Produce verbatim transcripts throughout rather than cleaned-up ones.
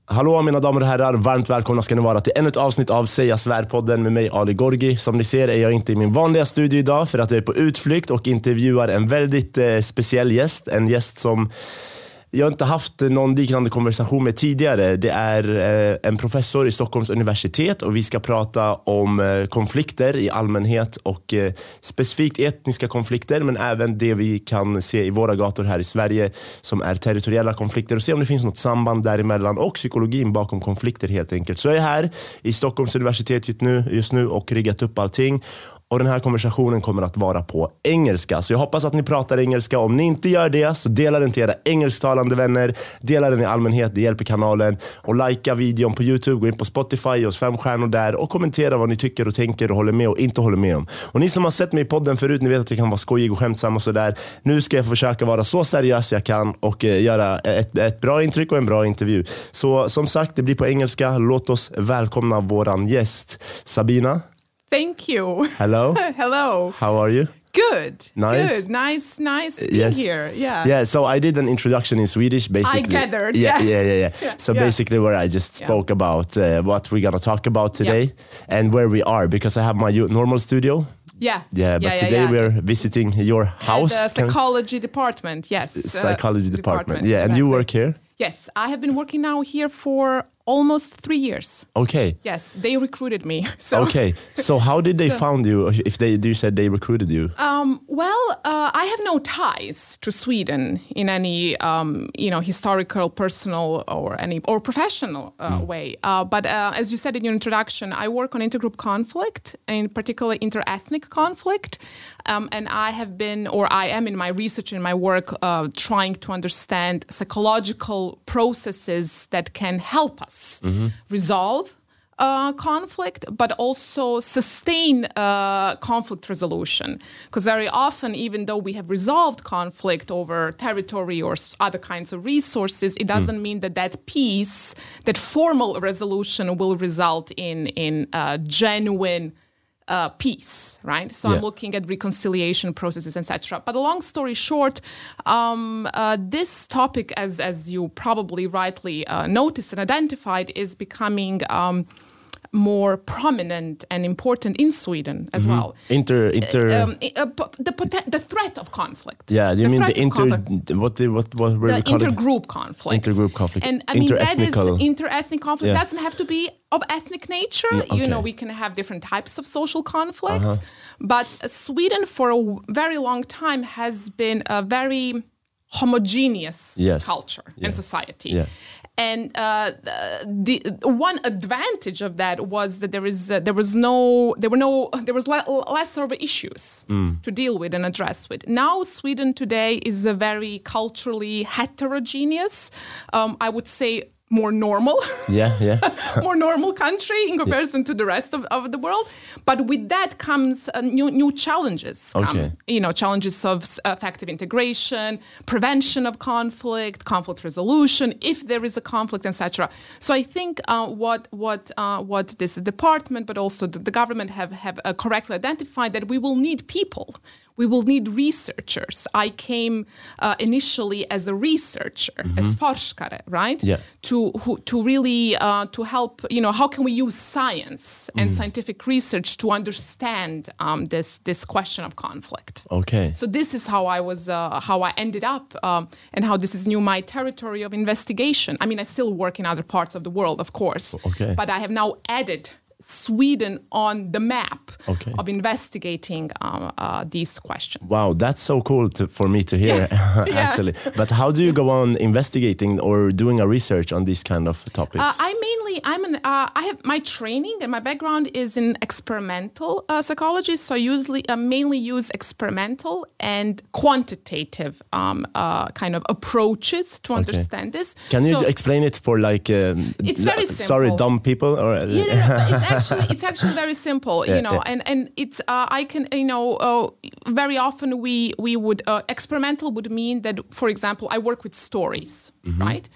Hallå mina damer och herrar, varmt välkomna ska ni vara till ännu ett avsnitt av Säga Svär-podden med mig Ali Gorgi. Som ni ser är jag inte i min vanliga studio idag för att jag är på utflykt och intervjuar en väldigt eh, speciell gäst. En gäst som jag inte haft någon liknande konversation med tidigare. Det är eh, en professor i Stockholms universitet och vi ska prata om eh, konflikter i allmänhet och eh, specifikt etniska konflikter, men även det vi kan se i våra gator här i Sverige som är territoriella konflikter och se om det finns något samband däremellan och psykologin bakom konflikter helt enkelt. Så jag är här i Stockholms universitet just nu, just nu och riggat upp allting. Och den här konversationen kommer att vara på engelska. Så jag hoppas att ni pratar engelska. Om ni inte gör det så dela den till era engelsktalande vänner. Dela den i allmänhet, det hjälper kanalen. Och likea videon på YouTube, gå in på Spotify, ge oss fem stjärnor där. Och kommentera vad ni tycker och tänker och håller med och inte håller med om. Och ni som har sett mig i podden förut, ni vet att jag kan vara skojig och skämtsam och sådär. Nu ska jag försöka vara så seriös jag kan och eh, göra ett, ett bra intryck och en bra intervju. Så som sagt, det blir på engelska. Låt oss välkomna våran gäst, Sabina. Thank you. Hello. Hello. How are you? Good. Nice. Good. Nice. Nice being Yes. here. Yeah. Yeah. So I did an introduction in Swedish, basically. I gathered. Yeah, Yeah. yeah, yeah, yeah. Yeah, So yeah. basically, where I just spoke Yeah. about uh, what we're gonna talk about today and where we are, because I have my u- normal studio. Yeah. Yeah, but yeah, today yeah. we're visiting your house. And, uh, Can- psychology department. Yes. uh, psychology department. Yeah, and you exactly. work here. Yes, I have been working now here for almost three years. Okay. Yes, they recruited me. So. Okay. So how did they So- found you? If they, you said they recruited you. Um, well, uh, I have no ties to Sweden in any, um, you know, historical, personal, or any or professional uh, way. Uh, but uh, as you said in your introduction, I work on intergroup conflict, in particular interethnic conflict, um, and I have been, or I am in my research and my work, uh, trying to understand psychological processes that can help us resolve Uh, conflict, but also sustain uh, conflict resolution. Because very often, even though we have resolved conflict over territory or s- other kinds of resources, it doesn't mean that that peace, that formal resolution will result in, in uh, genuine Uh, peace, right? So Yeah. I'm looking at reconciliation processes, et cetera. But a long story short, um, uh, this topic, as as you probably rightly uh, noticed and identified, is becoming um, more prominent and important in Sweden as well. Inter, inter. Um, i- uh, p- the poten- the threat of conflict. yeah, you the mean threat the of inter? conflict. What the what what were we The calling? intergroup conflict. Intergroup conflict. And I mean, that Interethnical. is inter-ethnic conflict. Yeah. Doesn't have to be of ethnic nature. No, You know, okay. we can have different types of social conflict. But uh, Sweden, for a w- very long time, has been a very homogeneous Yes. culture Yeah. and society. Yeah. And uh, the, the one advantage of that was that there is uh, there was no there were no there was le- less of issues to deal with and address with. Now Sweden today is a very culturally heterogeneous, um, I would say more normal, Yeah, yeah. more normal country in comparison to the rest of, of the world. But with that comes uh, new new challenges. come, Okay. You know, challenges of s- effective integration, prevention of conflict, conflict resolution, if there is a conflict, et cetera. So I think uh, what what uh, what this department, but also the, the government have have uh, correctly identified that we will need people. We will need researchers. I came uh, initially as a researcher, as forskare, right? Yeah. To who, to really uh, to help. You know, how can we use science and scientific research to understand um, this this question of conflict? Okay. So this is how I was, uh, how I ended up, um, and how this is new my territory of investigation. I mean, I still work in other parts of the world, of course. Okay. But I have now added Sweden on the map Okay. of investigating um, uh, these questions. Wow, that's so cool to, for me to hear, Yeah. actually. But how do you go on investigating or doing a research on these kind of topics? Uh, I mainly, I'm an, uh, I have my training and my background is in experimental uh, psychology. So I usually uh, mainly use experimental and quantitative um, uh, kind of approaches to understand this. Can you So- explain it for like, um, It's very l- sorry, simple. dumb people? Or Yeah, no, no, it's actually it's actually very simple, Yeah, you know, yeah. and and it's uh, I can you know uh, very often we we would uh, experimental would mean that, for example, I work with stories, right?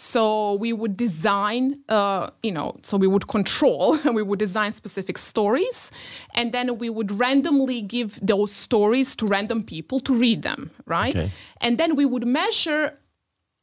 So we would design, uh, you know, so we would control and we would design specific stories, and then we would randomly give those stories to random people to read them, right? Okay. And then we would measure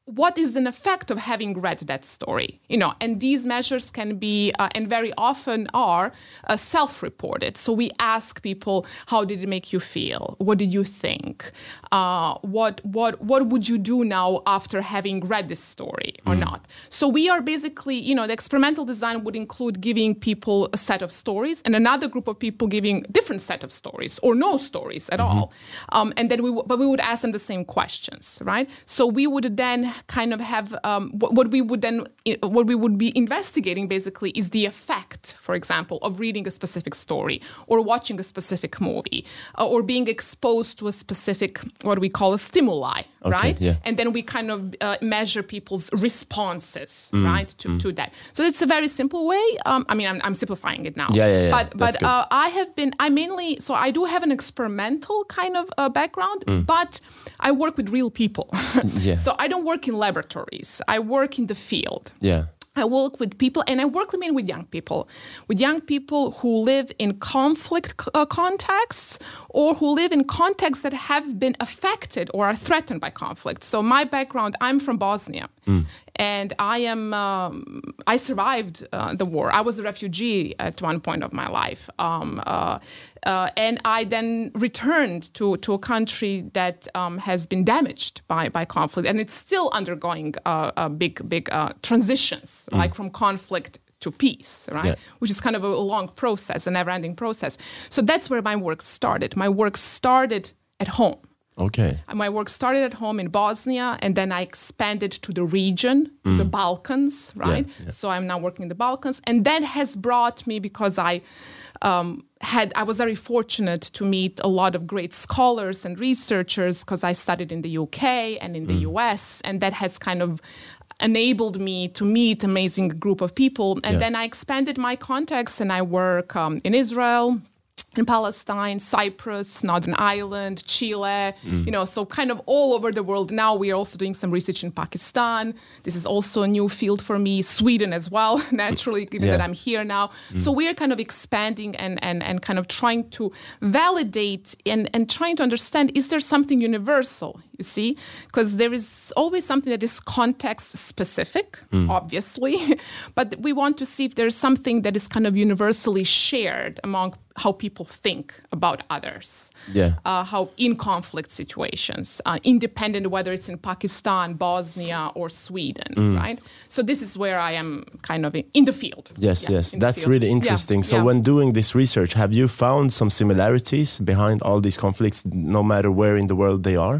what is an effect of having read that story? You know, and these measures can be, uh, and very often are, uh, self-reported. So we ask people, how did it make you feel? What did you think? Uh, what what what would you do now after having read this story or mm. not? So we are basically, you know, the experimental design would include giving people a set of stories and another group of people giving different set of stories or no stories at mm-hmm. all. Um, and then we, w- but we would ask them the same questions, right? So we would then kind of have um, what, what we would then what we would be investigating basically is the effect, for example, of reading a specific story or watching a specific movie uh, or being exposed to a specific what we call a stimuli, okay, right? Yeah. And then we kind of uh, measure people's responses, mm, right, to, mm. to that. So it's a very simple way. Um, I mean, I'm, I'm simplifying it now. Yeah, yeah, yeah. But That's but uh, I have been I mainly so I do have an experimental kind of uh, background, mm. but I work with real people. yeah. So I don't work in laboratories. I work in the field. Yeah. I work with people, and I work mainly with young people, with young people who live in conflict uh, contexts or who live in contexts that have been affected or are threatened by conflict. So my background, I'm from Bosnia, mm. and I am um, I survived uh, the war. I was a refugee at one point of my life, um, uh, uh, and I then returned to to a country that um, has been damaged by by conflict, and it's still undergoing uh, a big big uh, transitions. Mm. Like from conflict to peace, right? Yeah. Which is kind of a long process, a never-ending process. So that's where my work started. My work started at home. Okay. And my work started at home in Bosnia, and then I expanded to the region, to mm. the Balkans, right? Yeah, yeah. So I'm now working in the Balkans, and that has brought me because I um, had I was very fortunate to meet a lot of great scholars and researchers because I studied in the U K and in the mm. U S, and that has kind of enabled me to meet amazing group of people. And yeah. then I expanded my context and I work um, in Israel, in Palestine, Cyprus, Northern Ireland, Chile, mm. you know, so kind of all over the world. Now we are also doing some research in Pakistan. This is also a new field for me. Sweden as well, naturally, given yeah. that I'm here now. Mm. So we are kind of expanding and, and, and kind of trying to validate and, and trying to understand, is there something universal, you see? Because there is always something that is context specific, mm. obviously, but we want to see if there's something that is kind of universally shared among how people think about others, yeah. uh, how in conflict situations, uh, independent whether it's in Pakistan, Bosnia, or Sweden, mm. right? So this is where I am kind of in, in the field. Yes, yeah, yes, that's really interesting. Yeah, so yeah. when doing this research, have you found some similarities behind all these conflicts, no matter where in the world they are?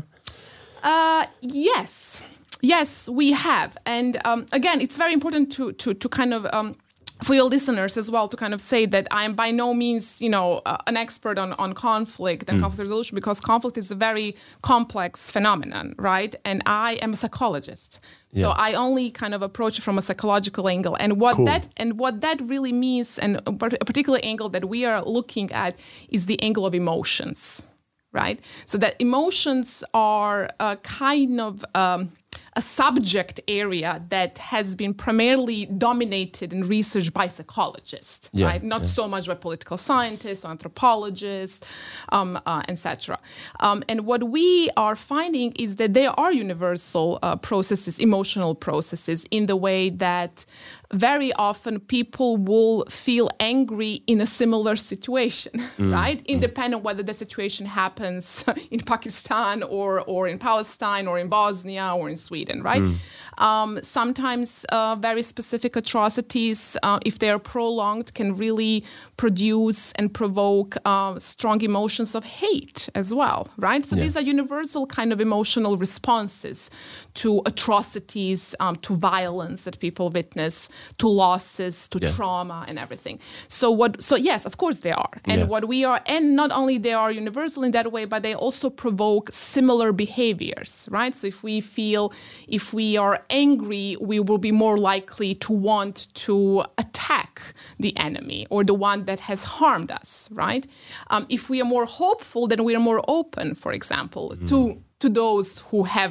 Uh, yes, yes, we have. And um, again, it's very important to, to, to kind of... Um, for your listeners as well, to kind of say that I am by no means, you know, uh, an expert on, on conflict and mm. conflict resolution, because conflict is a very complex phenomenon, right? And I am a psychologist, yeah. so I only kind of approach it from a psychological angle. And what cool. that and what that really means, and a particular angle that we are looking at, is the angle of emotions, right? So that emotions are a kind of um, a subject area that has been primarily dominated and researched by psychologists, yeah, right? Not yeah. so much by political scientists, or anthropologists, um, uh, et cetera. Um, and what we are finding is that there are universal uh, processes, emotional processes, in the way that very often people will feel angry in a similar situation, mm, right? Mm. Independent whether the situation happens in Pakistan or or in Palestine or in Bosnia or in Sweden, right? Mm. Um, sometimes uh, very specific atrocities, uh, if they are prolonged, can really produce and provoke uh, strong emotions of hate as well, right? So yeah. these are universal kind of emotional responses to atrocities, um, to violence that people witness, to losses, to yeah. trauma and everything. So what? So yes, of course they are. And yeah. what we are, and not only they are universal in that way, but they also provoke similar behaviors, right? So if we feel, if we are angry, we will be more likely to want to attack the enemy or the one that has harmed us, right? Um, if we are more hopeful, then we are more open, for example, mm. to to those who have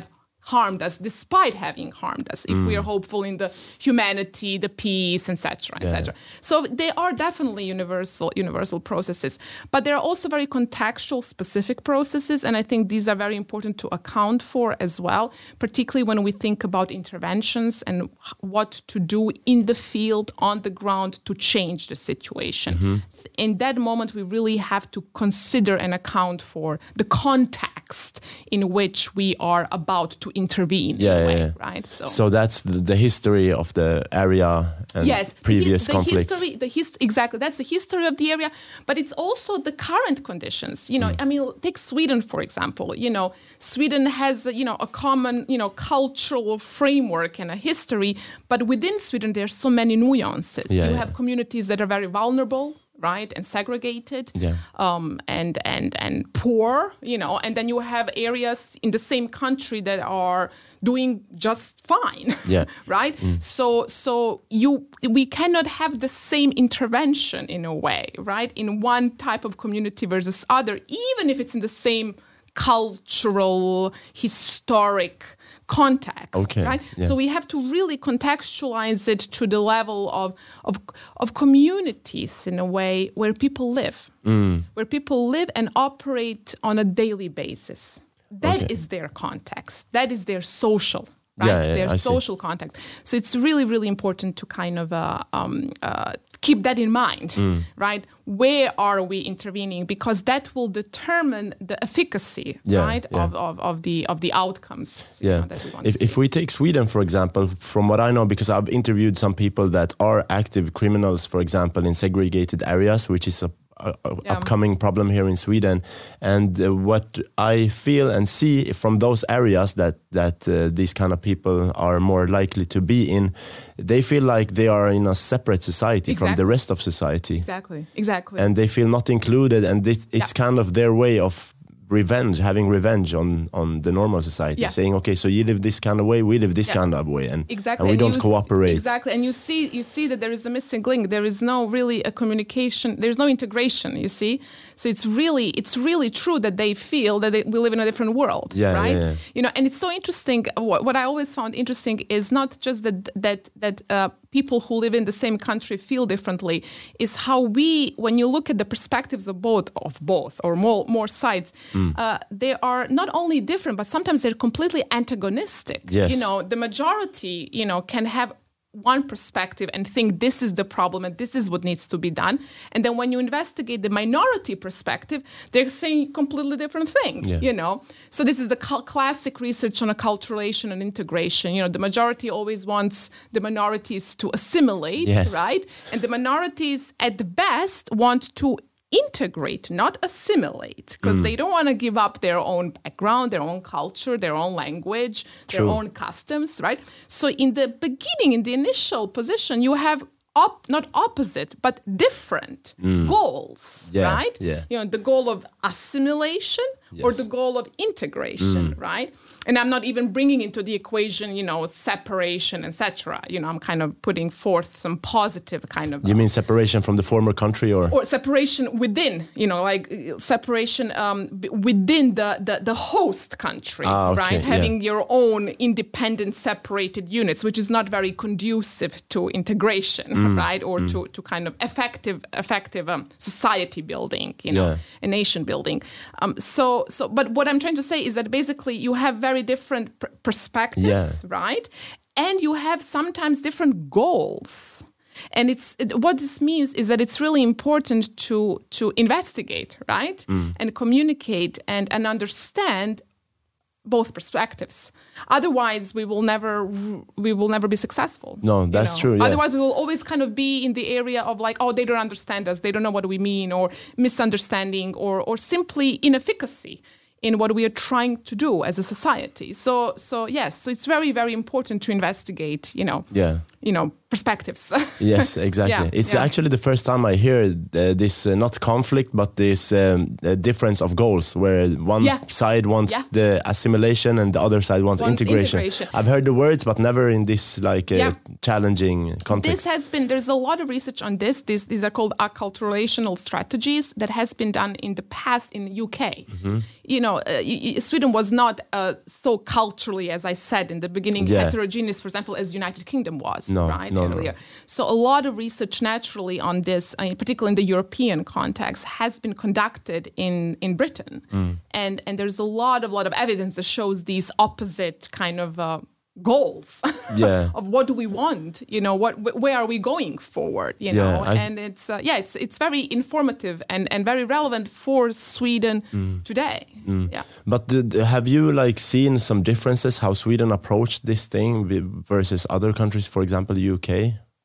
harmed us, despite having harmed us, if mm. we are hopeful in the humanity, the peace, et cetera, et cetera. Yeah. So they are definitely universal, universal processes, but there are also very contextual, specific processes, and I think these are very important to account for as well, particularly when we think about interventions and what to do in the field, on the ground, to change the situation. Mm-hmm. In that moment, we really have to consider and account for the context in which we are about to intervene. Yeah, in a way, yeah. right. So, so that's the, the history of the area and yes, previous the, the conflicts. History, the hist- exactly, that's the history of the area, but it's also the current conditions. You know, mm. I mean, take Sweden for example. You know, Sweden has you know a common you know cultural framework and a history, but within Sweden there's so many nuances. Yeah, you yeah. have communities that are very vulnerable, right, and segregated, yeah. um, and and and poor, you know, and then you have areas in the same country that are doing just fine, yeah. right? Mm. So so you we cannot have the same intervention in a way, right, in one type of community versus other, even if it's in the same cultural, historic context, okay. right? Yeah. So we have to really contextualize it to the level of of of communities in a way where people live, mm. where people live and operate on a daily basis. That okay. is their context. That is their social, right? Yeah, yeah, their I social see. context. So it's really, really important to kind of uh, um, uh, keep that in mind, mm. right? Where are we intervening? Because that will determine the efficacy, yeah, right, yeah. Of, of of the of the outcomes. Yeah. You know, that we want if to see. if we take Sweden for example, from what I know, because I've interviewed some people that are active criminals, for example, in segregated areas, which is a A, a yeah. upcoming problem here in Sweden, and uh, what I feel and see from those areas that that uh, these kind of people are more likely to be in, they feel like they are in a separate society exactly. from the rest of society. Exactly, exactly. And they feel not included, and this, it's yeah. kind of their way of revenge, having revenge on on the normal society, yeah. saying, okay, so you live this kind of way, we live this yeah. kind of way, and, exactly. and we and don't cooperate. Exactly, and you see, you see that there is a missing link. There is no really a communication. There's no integration. You see, so it's really, it's really true that they feel that they, we live in a different world, yeah, right? Yeah, yeah. You know, and it's so interesting. What, what I always found interesting is not just that that that. Uh, people who live in the same country feel differently, is how we, when you look at the perspectives of both, of both or more, more sides, mm. uh, they are not only different, but sometimes they're completely antagonistic. Yes. You know, the majority, you know, can have one perspective and think this is the problem and this is what needs to be done. And then when you investigate the minority perspective, they're saying completely different thing, yeah. you know. So this is the cl- classic research on acculturation and integration. You know, the majority always wants the minorities to assimilate, yes. right? And the minorities at the best want to integrate, not assimilate, because mm. they don't want to give up their own background, their own culture, their own language, True. their own customs, right? So in the beginning, in the initial position, you have op- not opposite, but different mm. goals, yeah, right? Yeah. You know, the goal of assimilation yes. or the goal of integration, mm. right? And I'm not even bringing into the equation, you know, separation, et cetera. You know, I'm kind of putting forth some positive kind of. You uh, mean separation from the former country, or or separation within? You know, like separation um, b- within the, the the host country, ah, okay, right? Having yeah. your own independent, separated units, which is not very conducive to integration, mm, right? Or mm. to, to kind of effective effective um, society building, you know, yeah. a nation building. Um, so so, but what I'm trying to say is that basically you have very different pr- perspectives, yeah. right? And you have sometimes different goals. And it's it, what this means is that it's really important to to investigate, right? Mm. And communicate and, and understand both perspectives. Otherwise, we will never we will never be successful. No, that's you know? true. Yeah. Otherwise, we will always kind of be in the area of like, oh, they don't understand us, they don't know what we mean, or misunderstanding, or or simply inefficacy in what we are trying to do as a society. So, so yes, so it's very, very important to investigate, you know, yeah. you know, perspectives. Yes, exactly. Yeah, it's yeah. actually the first time I hear uh, this, uh, not conflict, but this um, uh, difference of goals, where one Yeah. side wants Yeah. the assimilation and the other side wants, Wants integration. integration. I've heard the words, but never in this like uh, Yeah. challenging context. This has been, there's a lot of research on this. This these are called acculturational strategies that has been done in the past in the U K. Mm-hmm. You know, uh, y- y- Sweden was not uh, so culturally, as I said in the beginning, Yeah. heterogeneous, for example, as United Kingdom was, No, right? no, no. earlier. So a lot of research naturally on this, uh, particularly in the European context, has been conducted in, in Britain. Mm. And, and there's a lot of, lot of evidence that shows these opposite kind of uh, goals Yeah. of what do we want, you know, what wh- where are we going forward, you Yeah, know, I- and it's uh, yeah, it's it's very informative and, and very relevant for Sweden Mm. today. Yeah. But d- d- have you like seen some differences how Sweden approached this thing v- versus other countries, for example, U K?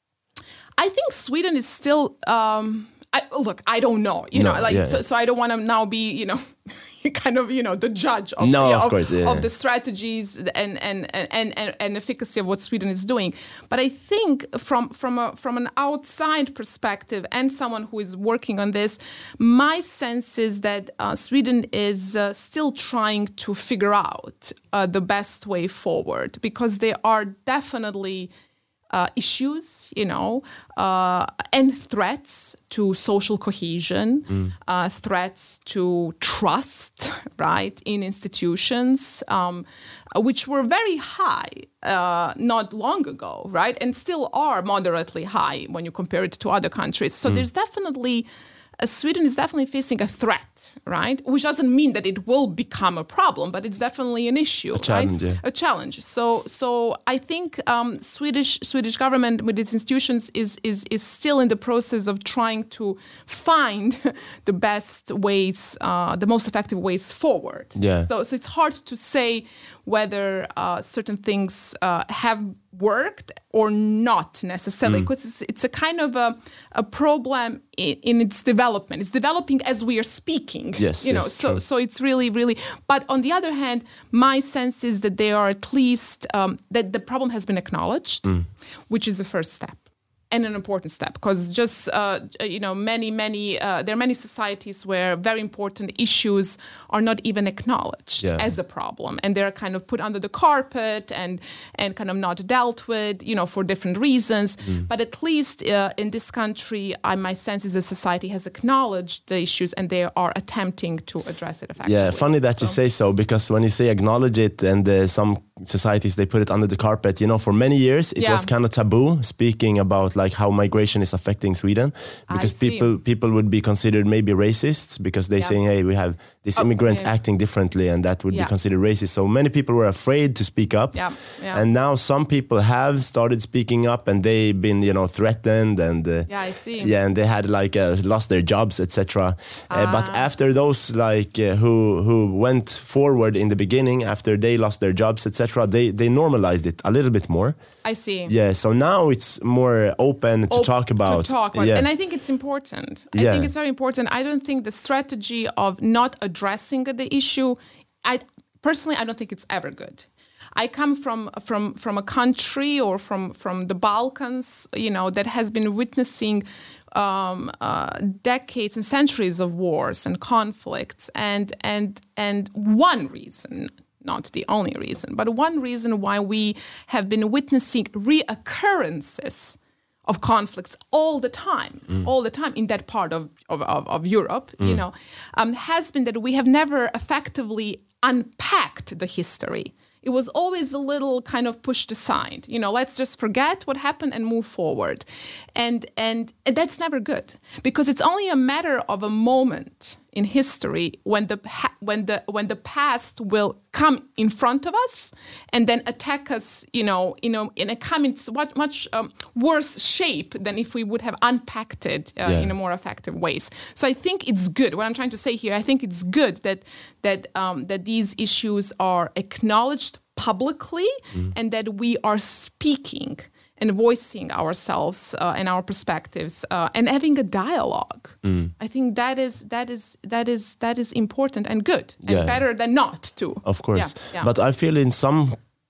I think Sweden is still. Um, I, look, I don't know. You No, know, like yeah, so, yeah. so. I don't want to now be, you know, kind of, you know, the judge of No, yeah, of of, course, yeah, of yeah. the strategies and and, and and and efficacy of what Sweden is doing. But I think from from a from an outside perspective and someone who is working on this, my sense is that uh, Sweden is uh, still trying to figure out uh, the best way forward, because there are definitely Uh, issues, you know, uh, and threats to social cohesion, uh, threats to trust, right, in institutions, um, which were very high uh, not long ago, right, and still are moderately high when you compare it to other countries. So there's definitely Uh, Sweden is definitely facing a threat, right? Which doesn't mean that it will become a problem, but it's definitely an issue, A challenge, right? yeah. A challenge. So, so I think um, Swedish Swedish government with its institutions is is is still in the process of trying to find the best ways, uh, the most effective ways forward. Yeah. So, so it's hard to say whether uh, certain things uh, have worked or not necessarily, because it's, it's a kind of a, a problem in, in its development. It's developing as we are speaking. Yes, you know. yes, so true. so it's really really. But on the other hand, my sense is that they are at least um, that the problem has been acknowledged, which is the first step. And an important step, because just uh, you know, many, many uh, there are many societies where very important issues are not even acknowledged Yeah. as a problem, and they're kind of put under the carpet and and kind of not dealt with, you know, for different reasons. But at least uh, in this country, I, my sense is the society has acknowledged the issues and they are attempting to address it effectively. Yeah, funny that you So- say so, because when you say acknowledge it, and uh, some societies they put it under the carpet, you know, for many years it Yeah. was kind of taboo speaking about like how migration is affecting Sweden, because see. people people would be considered maybe racist because they Yeah. saying, hey, we have these Oh, immigrants yeah. acting differently, and that would Yeah. be considered racist. So many people were afraid to speak up. Yeah, yeah. And now some people have started speaking up, and they've been, you know, threatened, and uh, Yeah, I see. yeah, and they had like uh, lost their jobs, et cetera. Uh, but Ah. after those like uh, who who went forward in the beginning, after they lost their jobs, et cetera, they they normalized it a little bit more. I see. Yeah, so now it's more open to op- talk about. To talk about. Yeah. And I think it's important. I Yeah. think it's very important. I don't think the strategy of not addressing the issue, I personally, I don't think it's ever good. I come from from from a country or from from the Balkans, you know, that has been witnessing um, uh, decades and centuries of wars and conflicts, and and and one reason, not the only reason, but one reason why we have been witnessing reoccurrences of conflicts all the time, all the time in that part of, of, of, of Europe, you know, um, has been that we have never effectively unpacked the history. It was always a little kind of pushed aside. You know, let's just forget what happened and move forward. And, and and that's never good, because it's only a matter of a moment in history when the pa- when the when the past will come in front of us and then attack us, you know, you know, in a come in much much um, worse shape than if we would have unpacked it uh, Yeah. in a more effective ways. So I think it's good. What I'm trying to say here, I think it's good that that um, that these issues are acknowledged publicly and that we are speaking and voicing ourselves uh, and our perspectives uh, and having a dialogue. I think that is that is that is that is important and good and Yeah. better than not to. Of course. Yeah, yeah. But I feel in some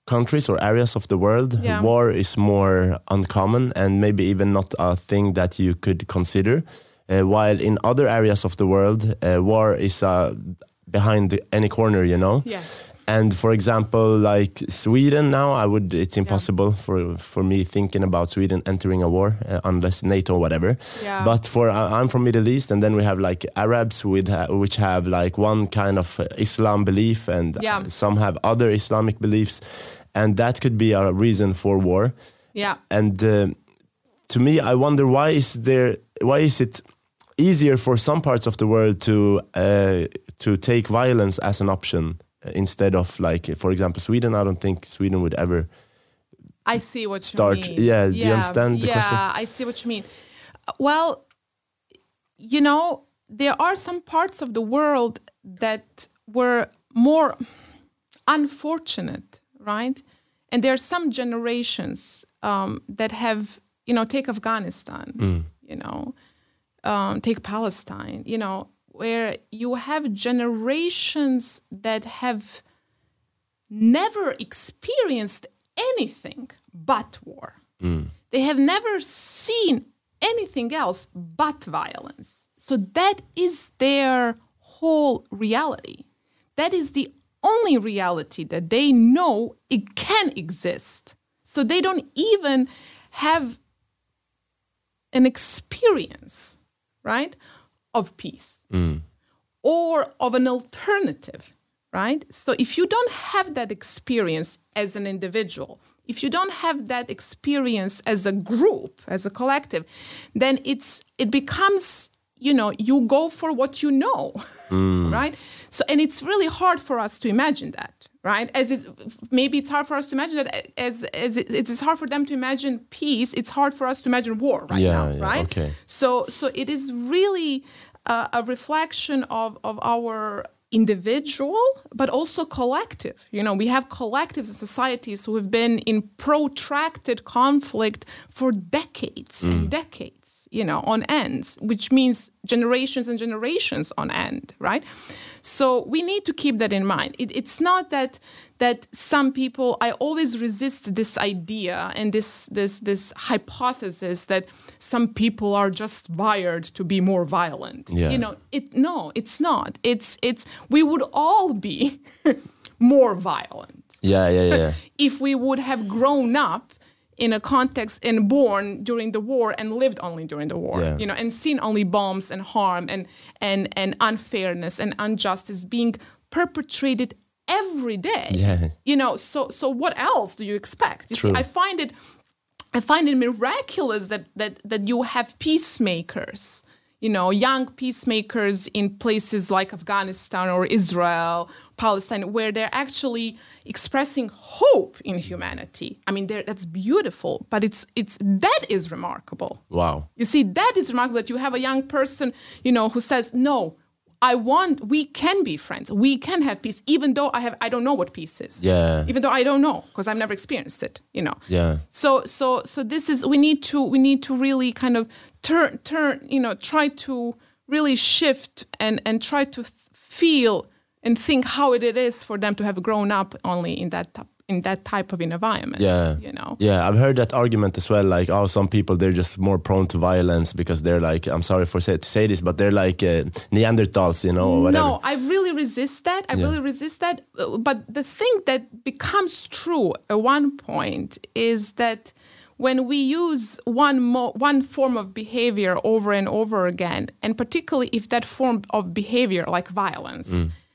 countries or areas of the world, Yeah. war is more uncommon and maybe even not a thing that you could consider. Uh, while in other areas of the world, uh, war is uh, behind the, any corner, you know. Yes. And for example, like Sweden now, I would. It's impossible yeah. for for me thinking about Sweden entering a war uh, unless NATO or whatever. Yeah. But for uh, I'm from Middle East, and then we have like Arabs with ha- which have like one kind of uh, Islam belief, and yeah. some have other Islamic beliefs, and that could be a reason for war. Yeah. And uh, to me, I wonder why is there why is it easier for some parts of the world to uh, to take violence as an option instead of, like, for example, Sweden? I don't think Sweden would ever I see what start. you mean. Yeah, yeah, do you understand the yeah, question? I see what you mean. Well, you know, there are some parts of the world that were more unfortunate, right? And there are some generations um, that have, you know, take Afghanistan, Mm. you know, um, take Palestine, you know, where you have generations that have never experienced anything but war. Mm. They have never seen anything else but violence. So that is their whole reality. That is the only reality that they know it can exist. So they don't even have an experience, right, of peace Mm. or of an alternative, right? So if you don't have that experience as an individual, if you don't have that experience as a group, as a collective, then it's it becomes, you know, you go for what you know, Mm. right? So, and it's really hard for us to imagine that, right? As it, maybe it's hard for us to imagine that as, as it, it is hard for them to imagine peace, it's hard for us to imagine war right Yeah, now, yeah, right? okay. So, so it is really uh, a reflection of, of our individual, but also collective. You know, we have collectives and societies who have been in protracted conflict for decades and decades, you know, on ends, which means generations and generations on end, right? So we need to keep that in mind. It, it's not that that some people, I always resist this idea and this this this hypothesis that some people are just wired to be more violent. Yeah. You know, it no, it's not. It's it's we would all be more violent Yeah, yeah, yeah. if we would have grown up in a context and born during the war and lived only during the war, Yeah. you know, and seen only bombs and harm and and and unfairness and injustice being perpetrated every day. Yeah. You know, so so what else do you expect? You True. see, I find it I find it miraculous that that that you have peacemakers, you know, young peacemakers in places like Afghanistan or Israel, Palestine, where they're actually expressing hope in humanity. I mean, they're- that's beautiful, but it's it's that is remarkable. Wow. You see, that is remarkable that you have a young person, you know, who says, no, I want, we can be friends. We can have peace, even though I have, I don't know what peace is. Yeah. Even though I don't know, because I've never experienced it, you know. Yeah. So, so, so this is, we need to, we need to really kind of turn, turn, you know, try to really shift and, and try to th- feel and think how it is for them to have grown up only in that type, in that type of environment. Yeah. You know. Yeah, I've heard that argument as well. Like, oh, some people, they're just more prone to violence because they're like, I'm sorry for say, to say this, but they're like uh, Neanderthals, you know, or whatever. No, I really resist that. I Yeah. really resist that. Uh, But the thing that becomes true at one point is that when we use one mo- one form of behavior over and over again, and particularly if that form of behavior, like violence,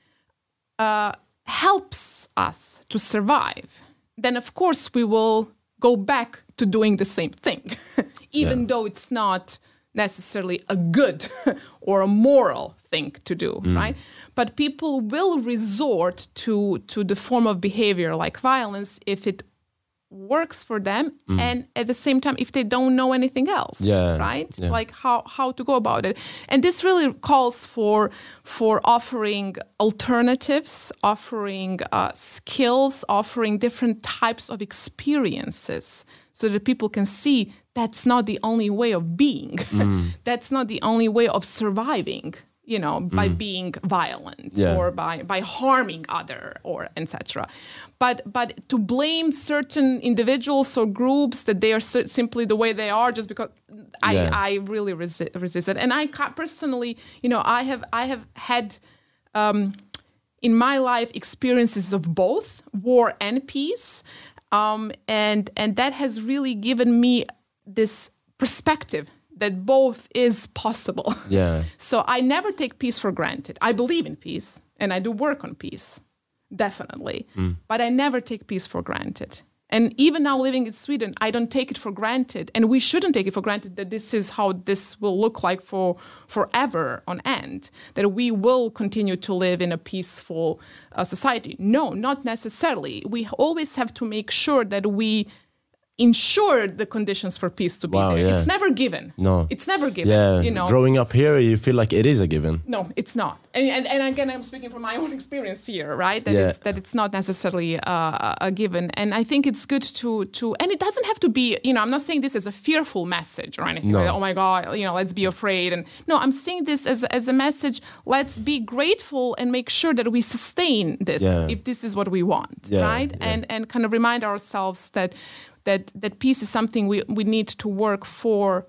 uh, helps us to survive, then of course we will go back to doing the same thing, even Yeah. though it's not necessarily a good or a moral thing to do, right? But people will resort to to the form of behavior like violence if it works for them, and at the same time if they don't know anything else, Yeah, right? yeah. Like how how to go about it. And this really calls for for offering alternatives, offering uh, skills, offering different types of experiences so that people can see that's not the only way of being. That's not the only way of surviving. you know, by mm. being violent yeah. or by, by harming other or et cetera. But but to blame certain individuals or groups that they are so, simply the way they are just because I, yeah. I really resi- resist it. And I personally, you know, I have I have had um, in my life experiences of both war and peace, um, and and that has really given me this perspective that both is possible. Yeah. So I never take peace for granted. I believe in peace and I do work on peace, definitely. Mm. But I never take peace for granted. And even now living in Sweden, I don't take it for granted. And we shouldn't take it for granted that this is how this will look like for forever on end, that we will continue to live in a peaceful uh, society. No, not necessarily. We always have to make sure that we ensure the conditions for peace to be wow, there. Yeah. It's never given. No. It's never given. Yeah. You know? Growing up here, you feel like it is a given. No, it's not. And, and, and again, I'm speaking from my own experience here, right? That, yeah. it's, that it's not necessarily uh, a given. And I think it's good to, to, and it doesn't have to be, you know, I'm not saying this as a fearful message or anything. No. Like, oh my God, you know, let's be afraid. And no, I'm saying this as, as a message, let's be grateful and make sure that we sustain this yeah. if this is what we want, yeah, right? Yeah. And, and kind of remind ourselves that That, that peace is something we, we need to work for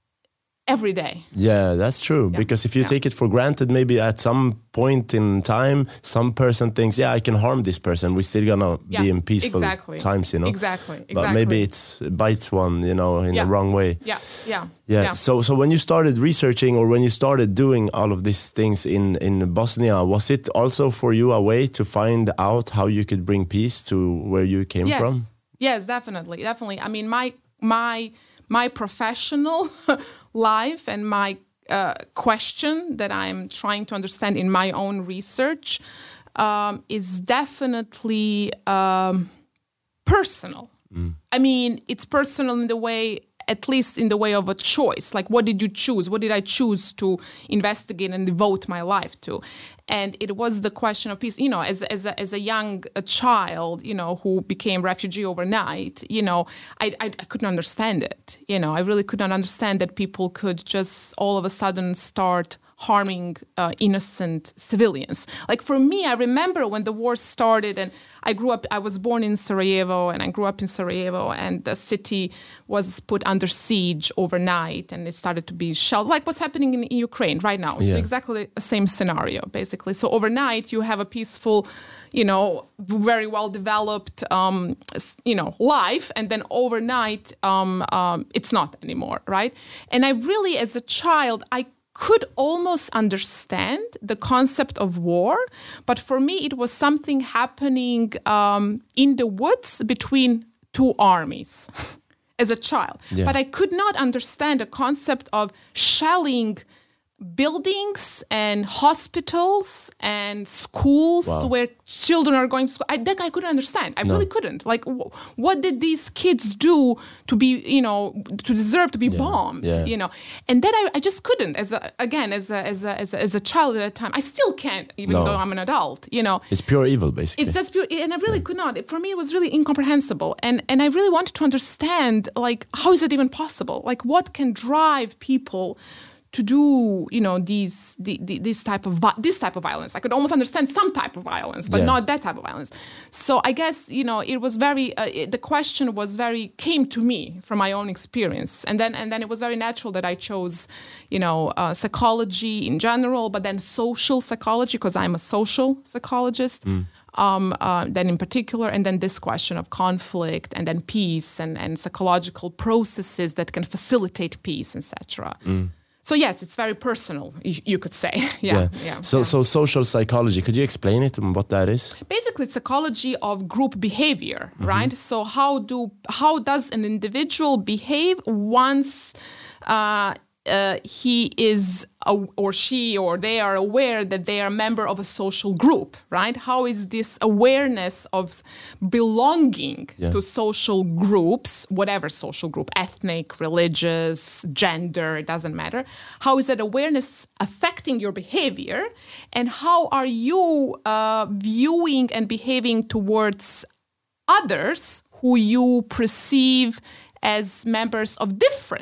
every day. Yeah, that's true. Yeah. Because if you yeah. take it for granted, maybe at some point in time, some person thinks, yeah, I can harm this person. We're still gonna yeah. be in peaceful exactly. times, you know? Exactly. exactly. But maybe it's, it bites one, you know, in yeah. the wrong way. Yeah, yeah. Yeah. yeah. So, so when you started researching or when you started doing all of these things in, in Bosnia, was it also for you a way to find out how you could bring peace to where you came yes. from? Yes, definitely, definitely. I mean, my my my professional life and my uh, question that I'm trying to understand in my own research um, is definitely um, personal. Mm. I mean, it's personal in the way, at least in the way of a choice. Like, what did you choose? What did I choose to investigate and devote my life to? And it was the question of peace. You know, as as a, as a young a child, you know, who became refugee overnight, you know, I, I I couldn't understand it. You know, I really could not understand that people could just all of a sudden start harming uh, innocent civilians. Like for me, I remember when the war started and I grew up, I was born in Sarajevo and I grew up in Sarajevo and the city was put under siege overnight and it started to be shelled, like what's happening in, in Ukraine right now. Yeah. So exactly the same scenario, basically. So overnight you have a peaceful, you know, very well developed, um, you know, life. And then overnight um, um, it's not anymore, right? And I really, as a child, I could almost understand the concept of war, but for me it was something happening um, in the woods between two armies as a child. Yeah. But I could not understand the concept of shelling buildings and hospitals and schools wow. where children are going to school. I, that I couldn't understand. I no. really couldn't. Like, w- what did these kids do to be, you know, to deserve to be yeah. bombed, yeah. you know? And that I, I just couldn't. As a, again, as a, as a as a as a child at that time, I still can't, even no. though I'm an adult. You know, it's pure evil, basically. It's just pure, and I really yeah. could not. For me, it was really incomprehensible, and and I really wanted to understand, like, how is it even possible? Like, what can drive people to do, you know, these the, the, this type of this type of violence? I could almost understand some type of violence, but yeah. not that type of violence. So I guess, you know, it was very uh, it, the question was very came to me from my own experience, and then and then it was very natural that I chose, you know, uh, psychology in general, but then social psychology because I'm a social psychologist. Mm. Um, uh, then in particular, and then this question of conflict, and then peace, and and psychological processes that can facilitate peace, et cetera. Mm. So yes, it's very personal, you, you could say. yeah, yeah. yeah. So, yeah. so social psychology. Could you explain it and what that is? Basically, it's psychology of group behavior, mm-hmm. right? So how do how does an individual behave once uh, uh, he is a, or she or they are aware that they are a member of a social group, right? How is this awareness of belonging yeah. to social groups, whatever social group, ethnic, religious, gender, it doesn't matter. How is that awareness affecting your behavior? And how are you uh, viewing and behaving towards others who you perceive as members of different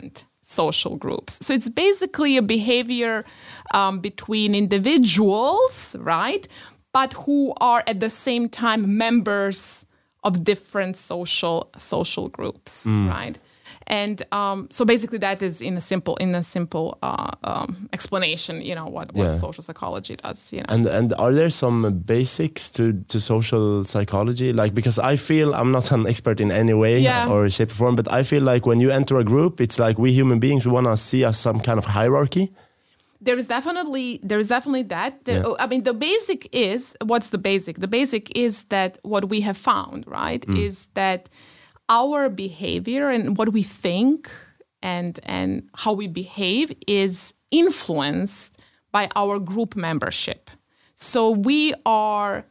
social groups. So it's basically a behavior um, between individuals, right? But who are at the same time members of different social social groups, mm. right? And um, so basically, that is in a simple in a simple uh, um, explanation. You know what, what yeah. social psychology does. You know, and and are there some basics to, to social psychology? Like, because I feel I'm not an expert in any way yeah. or shape or form, but I feel like when you enter a group, it's like we human beings we want to see as some kind of hierarchy. There is definitely there is definitely that. There, yeah. I mean, the basic is what's the basic? The basic is that what we have found, right, mm. is that our behavior and what we think and and how we behave is influenced by our group membership. So we are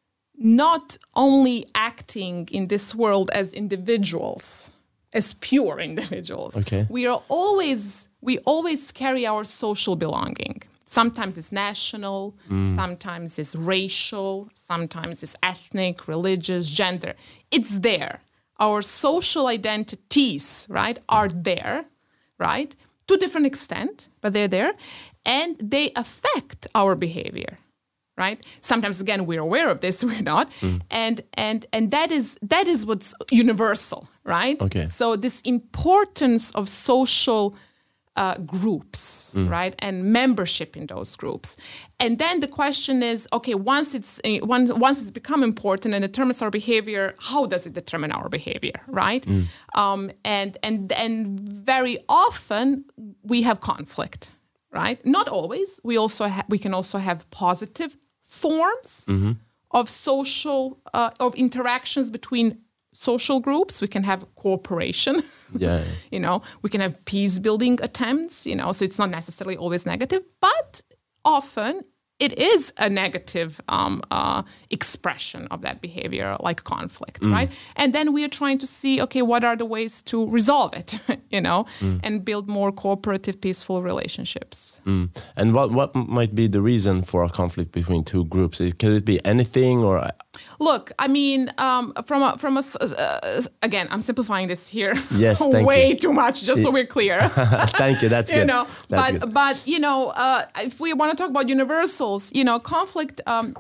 not only acting in this world as individuals, as pure individuals. Okay. We are always we always carry our social belonging. Sometimes it's national, mm. sometimes it's racial, sometimes it's ethnic, religious, gender. It's there. Our social identities, right, are there, right, to a different extent, but they're there, and they affect our behavior, right? Sometimes, again, we're aware of this, we're not, mm. and and and that is that is what's universal, right? Okay. So this importance of social uh, groups, mm. right, and membership in those groups, and then the question is, okay, once it's uh, once once it's become important and determines our behavior, how does it determine our behavior, right? Mm. Um, and and and very often we have conflict, right? Not always. We also ha- we can also have positive forms mm-hmm. of social uh, of interactions between social groups. We can have cooperation. Yeah. You know, we can have peace building attempts, you know, so it's not necessarily always negative, but often it is a negative um, uh, expression of that behavior, like conflict, mm. right? And then we are trying to see, okay, what are the ways to resolve it, you know, mm. and build more cooperative, peaceful relationships. Mm. And what what might be the reason for a conflict between two groups? Could it be anything or? Look, I mean, um, from a, from a, uh, again, I'm simplifying this here yes, thank way you. too much, just so we're clear. Thank you, that's you good. Know, that's but, good. but, you know, uh, if we want to talk about universals, you know, conflict um,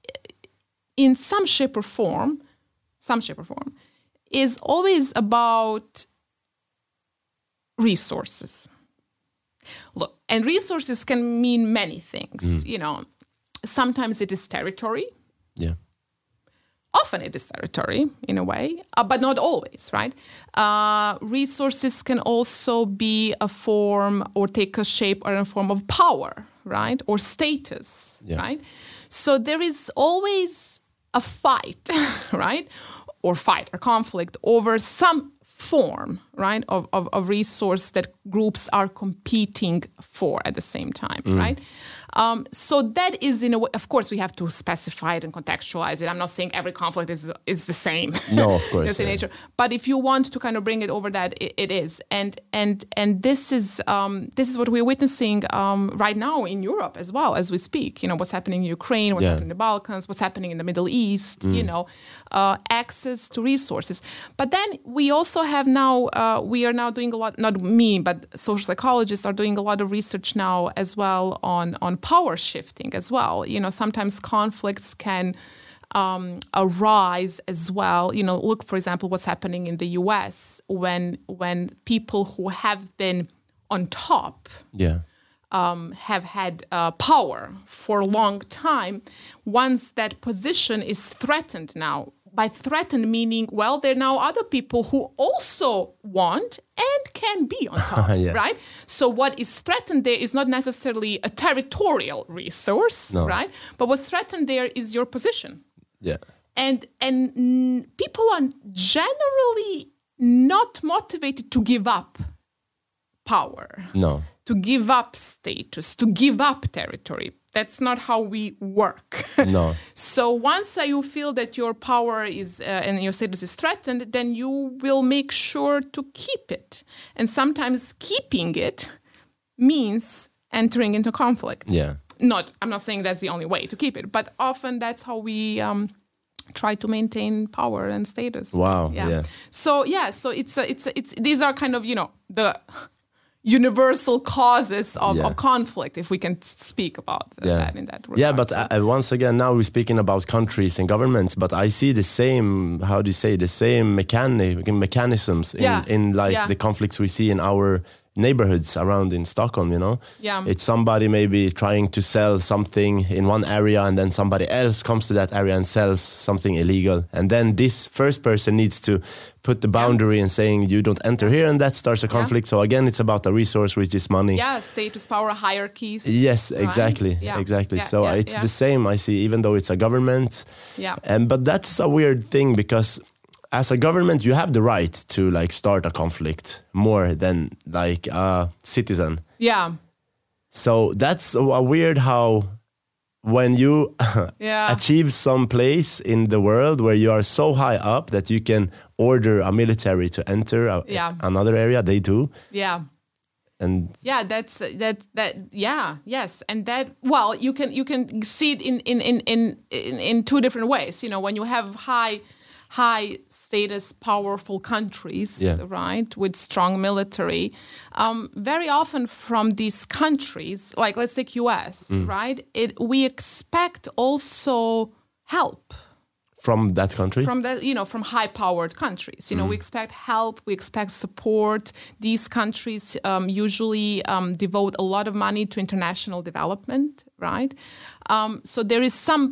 in some shape or form, some shape or form, is always about resources. Look, and resources can mean many things, mm. you know. Sometimes it is territory. Yeah. Often it is territory, in a way, uh, but not always, right? Uh, resources can also be a form or take a shape or a form of power, right? Or status, yeah. right? So there is always a fight, right? Or fight or conflict over some form, right, of, of, of resource that groups are competing for at the same time, mm. right? Um, so that is, in a way, of course, we have to specify it and contextualize it. I'm not saying every conflict is is the same. No, of course. yeah. nature. But if you want to kind of bring it over that, it, it is. And and and this is um, this is what we're witnessing um, right now in Europe as well as we speak. You know, what's happening in Ukraine, what's yeah. happening in the Balkans, what's happening in the Middle East, mm. you know, uh, access to resources. But then we also have now, uh, we are now doing a lot, not me, but social psychologists are doing a lot of research now as well on, on power shifting as well. You know, sometimes conflicts can um, arise as well. You know, look, for example, what's happening in the U S when when people who have been on top yeah. um, have had uh, power for a long time. Once that position is threatened now, by threatened meaning, well, there are now other people who also want and can be on top, yeah. right? So what is threatened there is not necessarily a territorial resource, no. right? But what's threatened there is your position. Yeah. And and mm, people are generally not motivated to give up power. No. To give up status, to give up territory. That's not how we work. No. So once uh, you feel that your power is uh, and your status is threatened, then you will make sure to keep it. And sometimes keeping it means entering into conflict. Yeah. Not, I'm not saying that's the only way to keep it, but often that's how we um, try to maintain power and status. Wow. Yeah. yeah. So yeah. So it's a, it's a, it's these are kind of, you know, the universal causes of, Yeah. of conflict, if we can speak about Yeah. that in that regard. Yeah, but So- uh, once again, now we're speaking about countries and governments, but I see the same, how do you say, the same mechanic, mechanisms in, Yeah. in like Yeah. the conflicts we see in our neighborhoods around in Stockholm, you know? Yeah. It's somebody maybe trying to sell something in one area and then somebody else comes to that area and sells something illegal. And then this first person needs to put the boundary and saying you don't enter here, and that starts a conflict. So again, it's about a resource, which is money. yeah, status, power, hierarchies. Yes, right? exactly, Yeah. exactly. Yeah, so yeah, it's yeah. the same I see, even though it's a government. Yeah. And but that's a weird thing because as a government, you have the right to like start a conflict more than like a citizen. Yeah. So that's a, a weird how when you Yeah. achieve some place in the world where you are so high up that you can order a military to enter a, Yeah. another area, they do. Yeah. And Yeah, that's that that yeah, yes. And that well, you can you can see it in in in in in, in two different ways. You know, when you have high high status powerful countries, Yeah. right, with strong military, um, very often from these countries, like let's take U S, right? It we expect also help. from that country? From the, you know, from high-powered countries, you know, we expect help, we expect support. These countries um, usually um, devote a lot of money to international development, right? Um, so there is some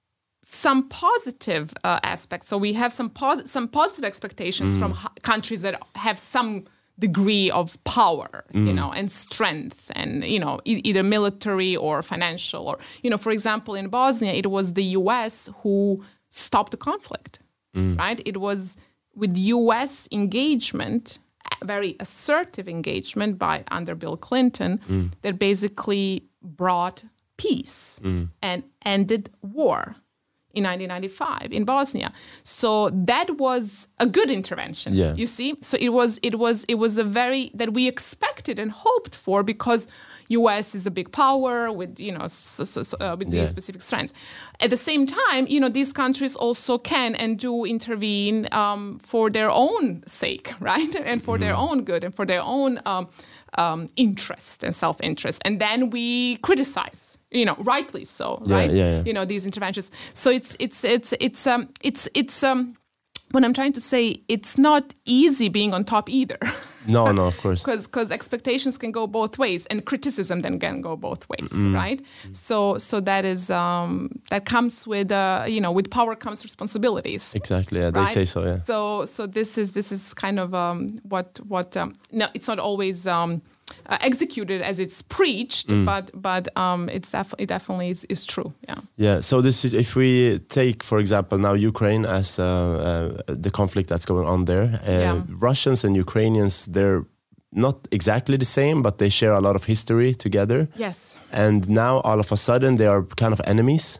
some positive uh, aspects. So we have some pos- some positive expectations from h- countries that have some degree of power, you know, and strength, and you know, e- either military or financial, or you know, for example, in Bosnia, it was the U S who stopped the conflict, right? It was with U S engagement, a very assertive engagement by under Bill Clinton, that basically brought peace and ended war in nineteen ninety-five in Bosnia. So that was a good intervention. Yeah. You see, so it was it was it was a very that we expected and hoped for, because U S is a big power with you know so, so, so, uh, with Yeah. these specific strengths. At the same time, you know, these countries also can and do intervene um, for their own sake, right, and for their own good and for their own um, um, interest and self-interest. And then we criticize, you know, rightly so, Yeah, right? yeah, yeah. You know, these interventions. So it's it's it's it's um it's it's um. What I'm trying to say, it's not easy being on top either. No, no, of course. Because expectations can go both ways, and criticism then can go both ways, right? So so that is um, that comes with uh, you know with power comes responsibilities. Exactly, yeah, they right? say so, yeah. So so this is this is kind of um, what what um, no, it's not always um, uh, executed as it's preached, but but um, it's def- it definitely is, is true. Yeah. Yeah, so this is, if we take, for example, now Ukraine as uh, uh, the conflict that's going on there, uh, Yeah. Russians and Ukrainians, they're not exactly the same, but they share a lot of history together. Yes. And now all of a sudden they are kind of enemies.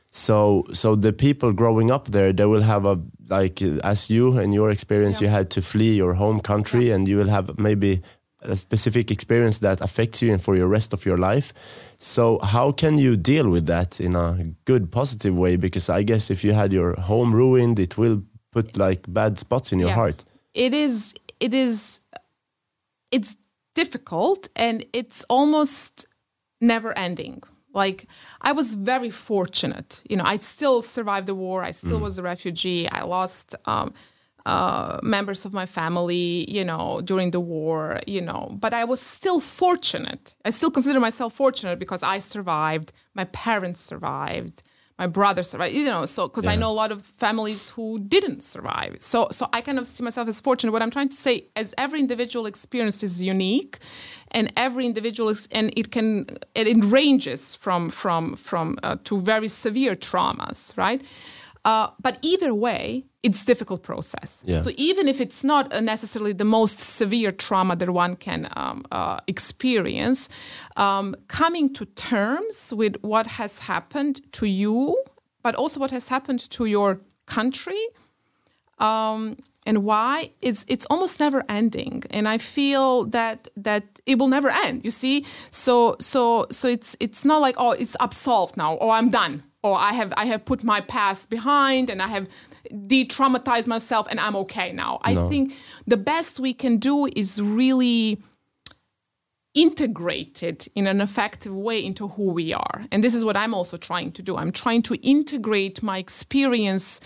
So so the people growing up there, they will have a, like uh, as you in your experience, Yeah. you had to flee your home country, and you will have maybe a specific experience that affects you and for your rest of your life. So how can you deal with that in a good, positive way? Because I guess if you had your home ruined, it will put like bad spots in your Yeah. heart. It is it is it's difficult, and it's almost never ending. Like, I was very fortunate, you know, I still survived the war. I still was a refugee. I lost um, uh, members of my family, you know, during the war, you know, but I was still fortunate. I still consider myself fortunate because I survived. My parents survived. My brother survived, you know, so because I know a lot of families who didn't survive. So so I kind of see myself as fortunate. What I'm trying to say is every individual experience is unique, and every individual is, and it can and it ranges from from from uh, to very severe traumas, right? Uh, but either way, it's a difficult process. Yeah. So even if it's not uh, necessarily the most severe trauma that one can um, uh, experience, um, coming to terms with what has happened to you, but also what has happened to your country, um, and why, it's it's almost never ending. And I feel that that it will never end. You see, so so so it's it's not like, oh, it's absolved now, or I'm done, or I have I have put my past behind and I have de-traumatized myself and I'm okay now. I No. think the best we can do is really integrated in an effective way into who we are. And this is what I'm also trying to do. I'm trying to integrate my experience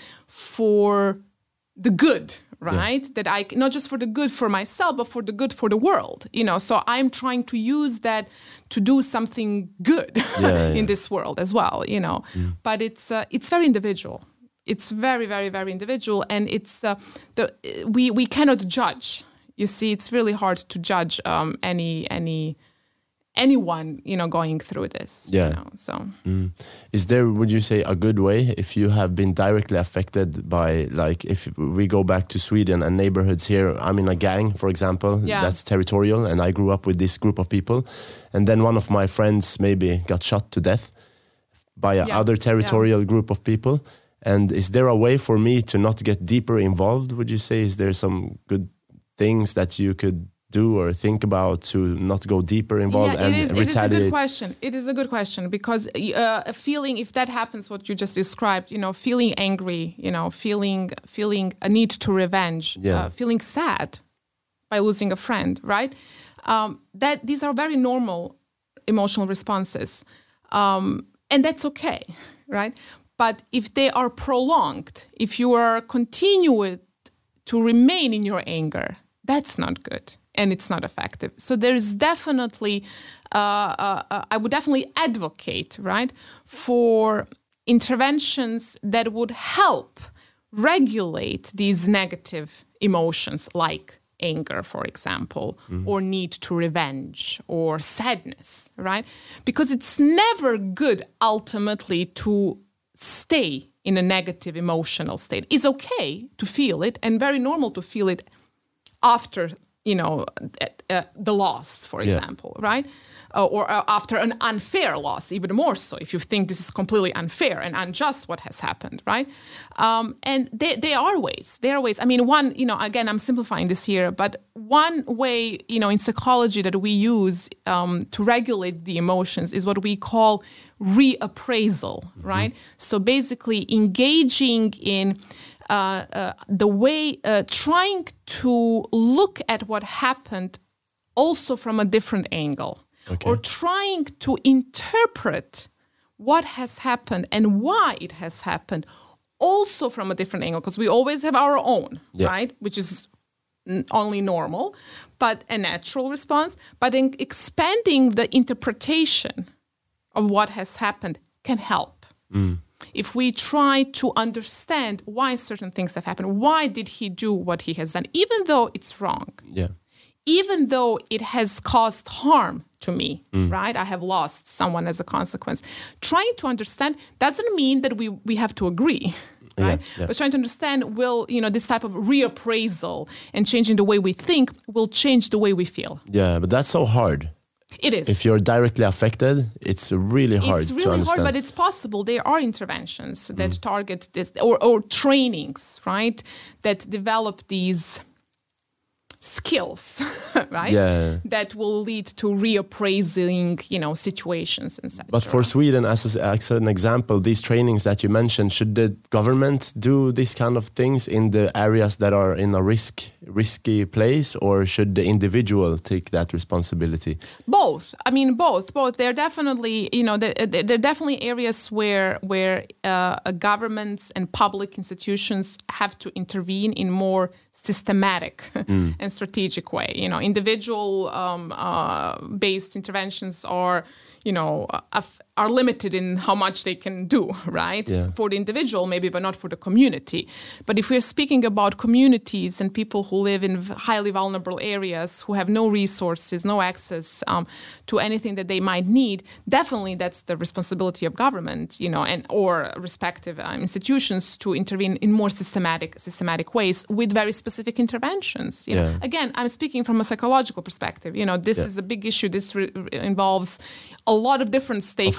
for the good, right? Yeah. That I, not just for the good for myself, but for the good for the world, you know? So I'm trying to use that to do something good yeah, in yeah. this world as well, you know? Mm. But it's uh, it's very individual. It's very, very, very individual. And it's, uh, the we, we cannot judge. You see, it's really hard to judge um, any any anyone, you know, going through this. Yeah. You know, so, mm. Is there, would you say, a good way if you have been directly affected by, like, if we go back to Sweden and neighborhoods here? I'm in a gang, for example, yeah. that's territorial, and I grew up with this group of people, and then one of my friends maybe got shot to death by a yeah. other territorial yeah. group of people. And is there a way for me to not get deeper involved? Would you say, is there some good things that you could do or think about to not go deeper involved yeah, and it is, retaliate? It is a good question. It is a good question because uh, a feeling, if that happens, what you just described, you know, feeling angry, you know, feeling feeling a need to revenge, yeah. uh, feeling sad by losing a friend, right? Um, that these are very normal emotional responses, um, and that's okay, right? But if they are prolonged, if you are continued to remain in your anger, that's not good and it's not effective. So there's definitely, uh, uh, uh, I would definitely advocate, right, for interventions that would help regulate these negative emotions like anger, for example, mm-hmm. or need to revenge or sadness, right? Because it's never good ultimately to stay in a negative emotional state. It's okay to feel it and very normal to feel it after, you know, uh, the loss, for yeah. example, right? Uh, or uh, after an unfair loss, even more so, if you think this is completely unfair and unjust what has happened, right? Um, and they, they are ways, there are ways. I mean, one, you know, again, I'm simplifying this here, but one way, you know, in psychology that we use um, to regulate the emotions is what we call reappraisal, mm-hmm. right? So basically engaging in uh, uh, the way, uh, trying to look at what happened also from a different angle. Okay. Or trying to interpret what has happened and why it has happened also from a different angle, because we always have our own, yeah. right, which is n- only normal, but a natural response. But in expanding the interpretation of what has happened can help. Mm. If we try to understand why certain things have happened, why did he do what he has done, even though it's wrong. Yeah. Even though it has caused harm to me, mm. right? I have lost someone as a consequence. Trying to understand doesn't mean that we, we have to agree, right? Yeah, yeah. But trying to understand will, you know, this type of reappraisal and changing the way we think will change the way we feel. Yeah, but that's so hard. It is. If you're directly affected, it's really hard it's really to understand. hard, but it's possible. There are interventions that mm. target this, or, or trainings, right, that develop these skills, right? Yeah. That will lead to reappraising, you know, situations and such. But for Sweden, as, a, as an example, these trainings that you mentioned, should the government do these kind of things in the areas that are in a risk risky place, or should the individual take that responsibility? Both. I mean, both. Both. They're definitely, you know, they're, they're definitely areas where where uh, governments and public institutions have to intervene in more systematic mm. and strategic way. You know, individual um, uh, based interventions are, you know, uh, are limited in how much they can do, right? Yeah. For the individual, maybe, but not for the community. But if we're speaking about communities and people who live in highly vulnerable areas, who have no resources, no access um, to anything that they might need, definitely that's the responsibility of government, you know, and or respective um, institutions to intervene in more systematic, systematic ways with very specific interventions. You yeah. know, again, I'm speaking from a psychological perspective. You know, this yeah. is a big issue. This re- involves a lot of different stakeholders.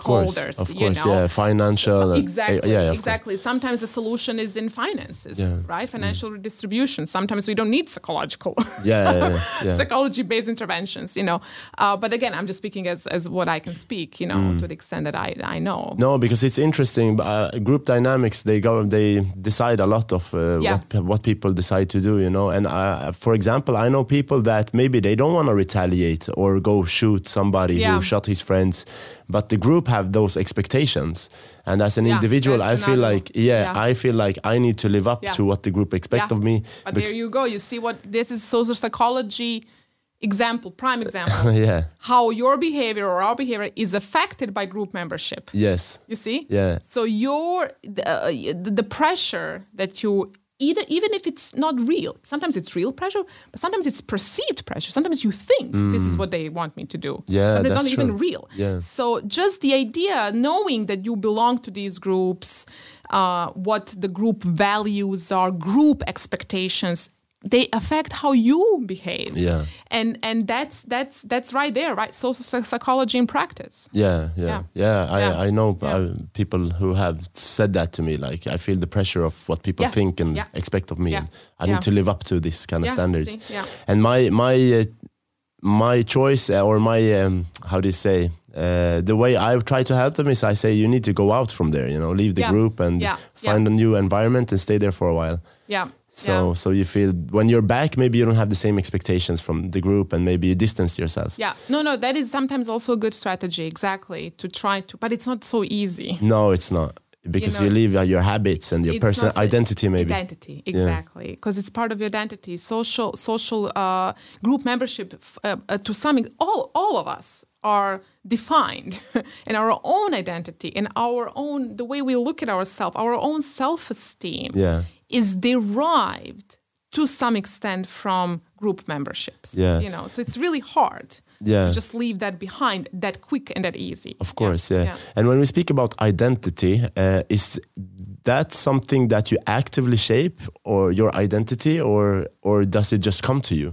stakeholders. Of course, of you course, know? yeah, financial. So, exactly, uh, yeah, of exactly. Course. Sometimes the solution is in finances, yeah. right? Financial mm. redistribution. Sometimes we don't need psychological, yeah, yeah, yeah. psychology-based interventions, you know. Uh, but again, I'm just speaking as, as what I can speak, you know, mm. to the extent that I, I know. No, because it's interesting. Uh, group dynamics, they go, they decide a lot of uh, yeah. what what people decide to do, you know. And uh, for example, I know people that maybe they don't want to retaliate or go shoot somebody yeah. who shot his friends, but the group have those expectations. And as an yeah, individual, I feel another, like, yeah, yeah, I feel like I need to live up yeah. to what the group expect yeah. of me. But there you go. You see what this is social psychology example, prime example. yeah. How your behavior or our behavior is affected by group membership. Yes. You see? Yeah. So your uh, the pressure that you either even if it's not real, sometimes it's real pressure, but sometimes it's perceived pressure. Sometimes you think mm. this is what they want me to do. Yeah, but it's that's not true. even real. Yeah. So just the idea, knowing that you belong to these groups, uh, what the group values are, group expectations, they affect how you behave. Yeah. And and that's that's that's right there, right? Social psychology in practice. Yeah, yeah. Yeah, yeah I, yeah. I know yeah. uh, people who have said that to me. Like, I feel the pressure of what people yeah. think and yeah. expect of me. Yeah. And I yeah. need to live up to this kind of yeah. standards. See? Yeah. And my my uh, my choice uh, or my um, how do you say uh, the way I try to help them is I say you need to go out from there. You know, leave the yeah. group and yeah. find yeah. a new environment and stay there for a while. Yeah. So yeah. so you feel when you're back, maybe you don't have the same expectations from the group and maybe you distance yourself. Yeah. No, no, that is sometimes also a good strategy, exactly, to try to, but it's not so easy. No, it's not. Because you, know, you leave uh, your habits and your personal so identity, maybe. Identity, exactly. Because yeah. it's part of your identity. Social social uh, group membership, uh, uh, to some extent, all, all of us are defined in our own identity, in our own, the way we look at ourselves, our own self-esteem yeah. is derived to some extent from group memberships. Yeah. You know, so it's really hard. Yeah. To just leave that behind that quick and that easy. Of course, yeah. yeah. yeah. And when we speak about identity, uh, is that something that you actively shape or your identity or or does it just come to you?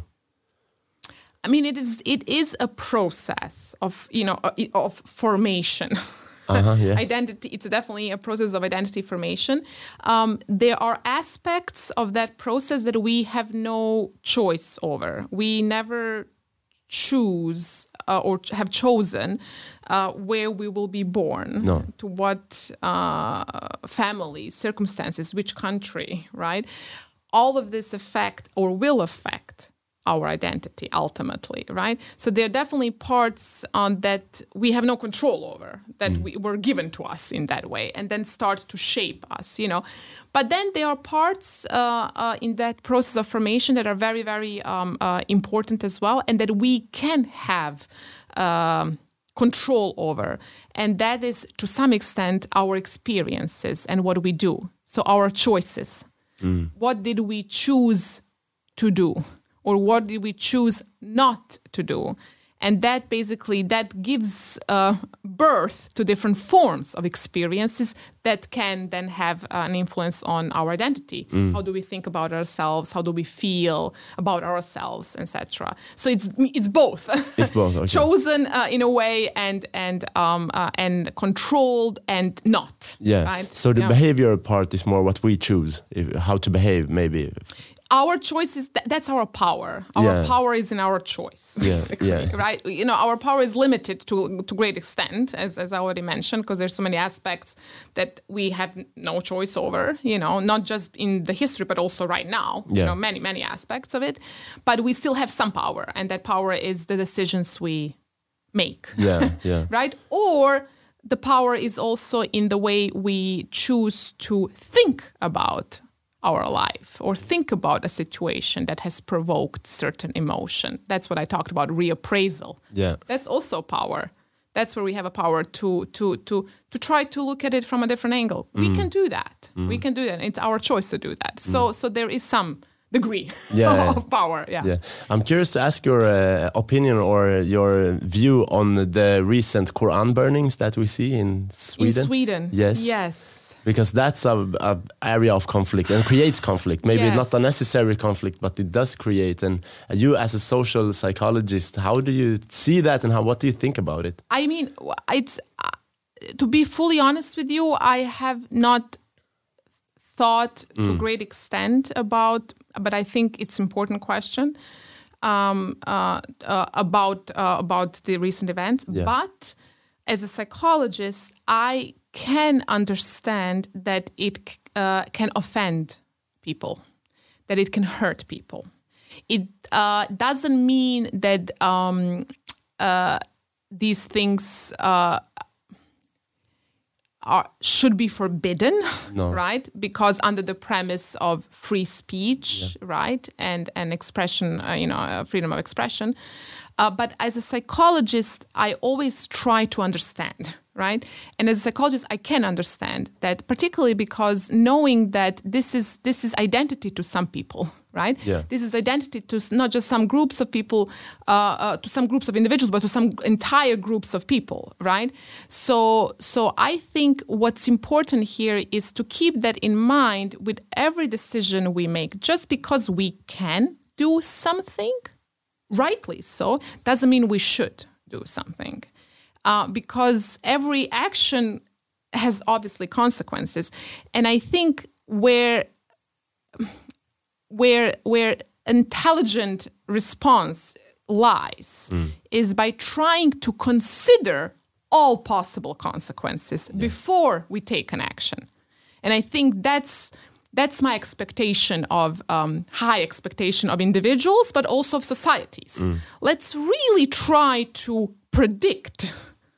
I mean, it is it is a process of, you know, of formation. Uh-huh, yeah. Identity, it's definitely a process of identity formation. Um, there are aspects of that process that we have no choice over. We never choose uh, or ch- have chosen uh, where we will be born, no. to what uh, family, circumstances, which country, right? All of this affect or will affect our identity ultimately, right? So there are definitely parts on that we have no control over, that mm. we were given to us in that way, and then start to shape us, you know. But then there are parts uh, uh, in that process of formation that are very, very um, uh, important as well, and that we can have um, control over. And that is, to some extent, our experiences and what we do. So our choices. Mm. What did we choose to do? Or what did we choose not to do? And that basically, that gives uh, birth to different forms of experiences that can then have an influence on our identity. Mm. How do we think about ourselves? How do we feel about ourselves, et cetera. So it's it's both. It's both. Okay. Chosen uh, in a way, and and um, uh, and controlled and not. Yeah. Right? So the yeah. behavioral part is more what we choose, if, how to behave, maybe. Our choice is, th- that's our power. Our yeah. power is in our choice, basically, yeah, yeah. right? You know, our power is limited to to great extent, as, as I already mentioned, because there's so many aspects that we have no choice over, you know, not just in the history, but also right now, yeah. you know, many, many aspects of it. But we still have some power, and that power is the decisions we make, yeah, yeah. right? Or the power is also in the way we choose to think about our life or think about a situation that has provoked certain emotion. That's what I talked about, reappraisal. Yeah. That's also power. That's where we have a power to to to to try to look at it from a different angle. Mm. We can do that. Mm. We can do that. It's our choice to do that. So mm. so there is some degree yeah, of power. Yeah. yeah. I'm curious to ask your uh, opinion or your view on the recent Quran burnings that we see in Sweden. In Sweden. Yes. Yes. Because that's a, a area of conflict and creates conflict. Maybe yes. not a necessary conflict, but it does create. And you, as a social psychologist, how do you see that, and how what do you think about it? I mean, it's uh, to be fully honest with you, I have not thought mm. to a great extent about, but I think it's an important question um, uh, uh, about uh, about the recent events. Yeah. But as a psychologist, I can understand that it uh, can offend people, that it can hurt people. It uh, doesn't mean that um, uh, these things uh, are should be forbidden, no. right? Because under the premise of free speech, yeah. right, and and expression, uh, you know, uh, freedom of expression. Uh, but as a psychologist, I always try to understand, right? And as a psychologist, I can understand that, particularly because knowing that this is this is identity to some people, right? Yeah. This is identity to not just some groups of people, uh, uh, to some groups of individuals, but to some entire groups of people, right? So, so I think what's important here is to keep that in mind with every decision we make. Just because we can do something, rightly so, doesn't mean we should do something. Uh, because every action has obviously consequences. And I think where where where intelligent response lies mm. is by trying to consider all possible consequences yeah. before we take an action. And I think that's That's my expectation of, um, high expectation of individuals, but also of societies. Mm. Let's really try to predict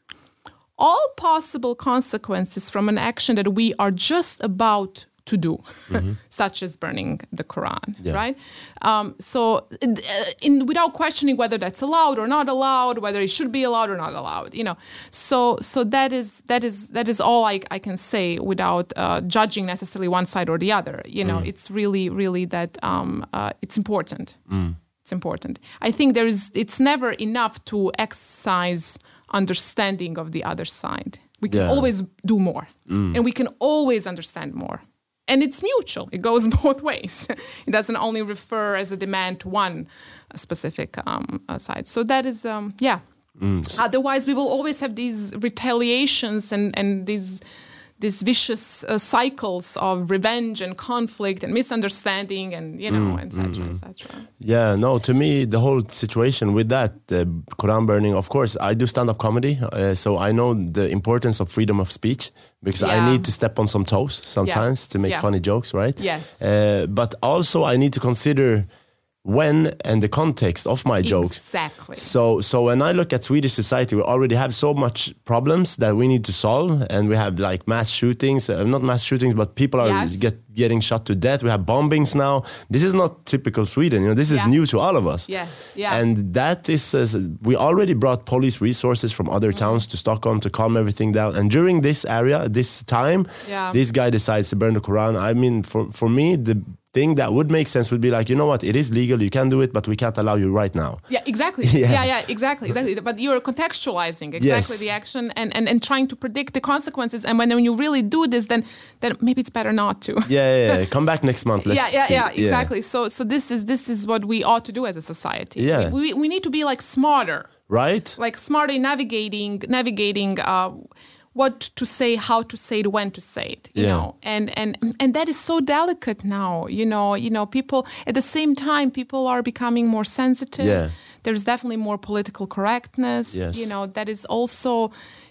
all possible consequences from an action that we are just about to do, mm-hmm. such as burning the Quran, yeah. right? Um, so in, in, without questioning whether that's allowed or not allowed, whether it should be allowed or not allowed, you know. So so that is that is that is all I, I can say without uh, judging necessarily one side or the other. You know, mm. it's really, really that um, uh, it's important. Mm. It's important. I think there is. It's never enough to exercise understanding of the other side. We can yeah. always do more, mm. and we can always understand more. And it's mutual. It goes both ways. It doesn't only refer as a demand to one specific um, uh, side. So that is, um, yeah. Mm. Otherwise, we will always have these retaliations and, and these these vicious uh, cycles of revenge and conflict and misunderstanding and, you know, et cetera, mm, et cetera. Yeah, no, to me, the whole situation with that, uh, Quran burning, of course, I do stand-up comedy, uh, so I know the importance of freedom of speech because yeah. I need to step on some toes sometimes yeah. to make yeah. funny jokes, right? Yes. Uh, but also I need to consider when and the context of my jokes. Exactly. So so when I look at Swedish society, we already have so much problems that we need to solve. And we have like mass shootings, uh, not mass shootings, but people are yes. get, getting shot to death. We have bombings now. This is not typical Sweden. You know, this is yeah. new to all of us. Yeah. Yeah. And that is, uh, we already brought police resources from other mm-hmm. towns to Stockholm to calm everything down. And during this area, this time, yeah. this guy decides to burn the Quran. I mean, for, for me, the thing that would make sense would be like, you know what, it is legal, you can do it, but we can't allow you right now. Yeah, exactly. yeah. yeah, yeah, exactly, exactly. But you're contextualizing exactly yes. the action and, and, and trying to predict the consequences. And when, when you really do this, then then maybe it's better not to. yeah, yeah, yeah. Come back next month. Let's yeah, yeah, see. yeah, exactly. Yeah. So so this is this is what we ought to do as a society. Yeah. We, we, we need to be like smarter. Right. Like smarter in navigating, navigating uh, what to say, how to say it, when to say it, you yeah. know, and and and that is so delicate now. You know, you know, people at the same time, people are becoming more sensitive. Yeah. There's definitely more political correctness. Yes. You know, that is also.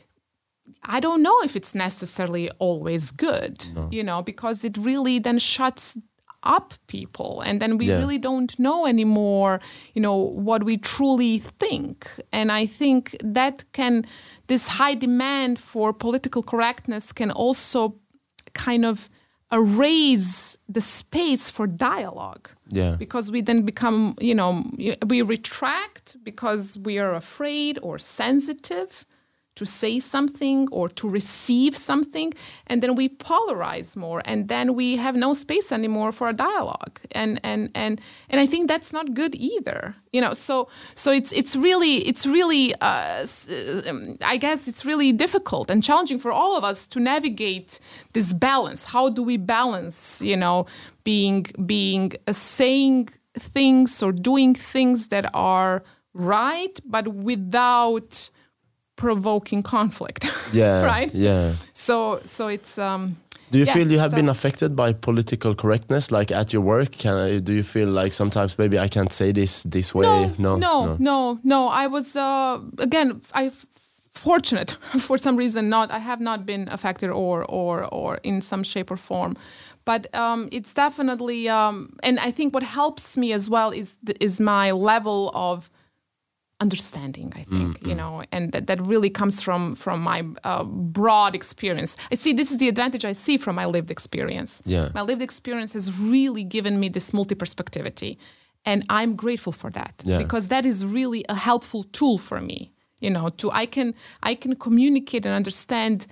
I don't know if it's necessarily always good. No. You know, because it really then shuts up people, and then we yeah. really don't know anymore. You know what we truly think, and I think that can. This high demand for political correctness can also kind of erase the space for dialogue. Yeah. Because we then become, you know, we retract because we are afraid or sensitive to say something or to receive something, and then we polarize more, and then we have no space anymore for a dialogue, and and and and I think that's not good either, you know. So so it's it's really it's really uh, I guess it's really difficult and challenging for all of us to navigate this balance. How do we balance, you know, being being uh, saying things or doing things that are right, but without provoking conflict. Yeah, right. Yeah. So so it's. Um, Do you yeah, feel you have so- been affected by political correctness, like at your work? Can I, do you feel like sometimes maybe I can't say this this way? No, no, no, no. I was uh, again. I fortunate for some reason. Not. I have not been affected or or or in some shape or form. But um, it's definitely, um, and I think what helps me as well is th- is my level of understanding, I think, mm-hmm. you know, and that, that really comes from from my uh, broad experience. I see this is the advantage I see from my lived experience. Yeah. My lived experience has really given me this multi-perspectivity, and I'm grateful for that yeah. because that is really a helpful tool for me. You know, to I can I can communicate and understand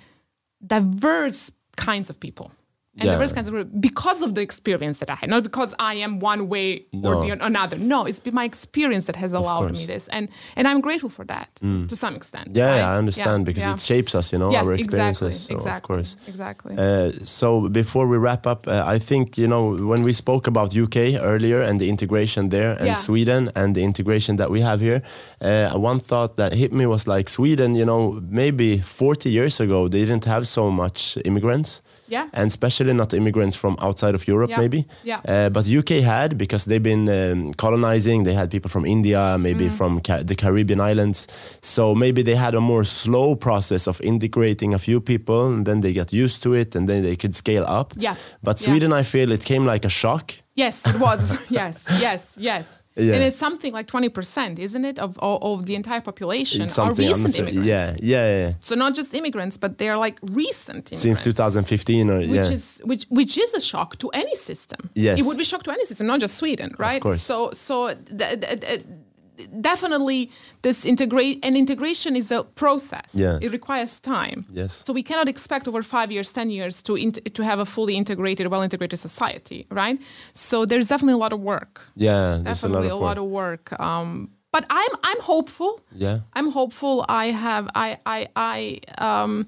diverse kinds of people. And yeah. diverse kinds of because of the experience that I had, not because I am one way no. or the another. No, it's been my experience that has allowed me this, and and I'm grateful for that mm. to some extent. Yeah, right? yeah I understand yeah, because yeah. it shapes us, you know, yeah, our experiences. Exactly, so exactly, of course, exactly. Uh, so before we wrap up, uh, I think you know when we spoke about U K earlier and the integration there, and yeah. Sweden and the integration that we have here, uh, one thought that hit me was like Sweden. You know, maybe forty years ago they didn't have so much immigrants. Yeah. And especially not immigrants from outside of Europe, yeah. maybe. Yeah. Uh, but U K had, because they've been um, colonizing, they had people from India, maybe mm. from Ca- the Caribbean islands. So maybe they had a more slow process of integrating a few people, and then they got used to it, and then they could scale up. Yeah. But Sweden, yeah. I feel it came like a shock. Yes, it was. yes, yes, yes. Yeah. And it's something like twenty percent, isn't it, of, of of the entire population It's are recent unnecessary. immigrants. Yeah, yeah, yeah. So not just immigrants, but they're like recent immigrants. Since two thousand fifteen, or which yeah. is which which is a shock to any system. Yes. It would be a shock to any system, not just Sweden, right? Of course. So so th- th- th- definitely this integrate and integration is a process. Yeah. It requires time. Yes. So we cannot expect over five years, ten years to int- to have a fully integrated, well integrated society, right? So there's definitely a lot of work. Yeah, there's Definitely a lot of a work. lot of work. Um, but I'm I'm hopeful. Yeah. I'm hopeful. I have I I I um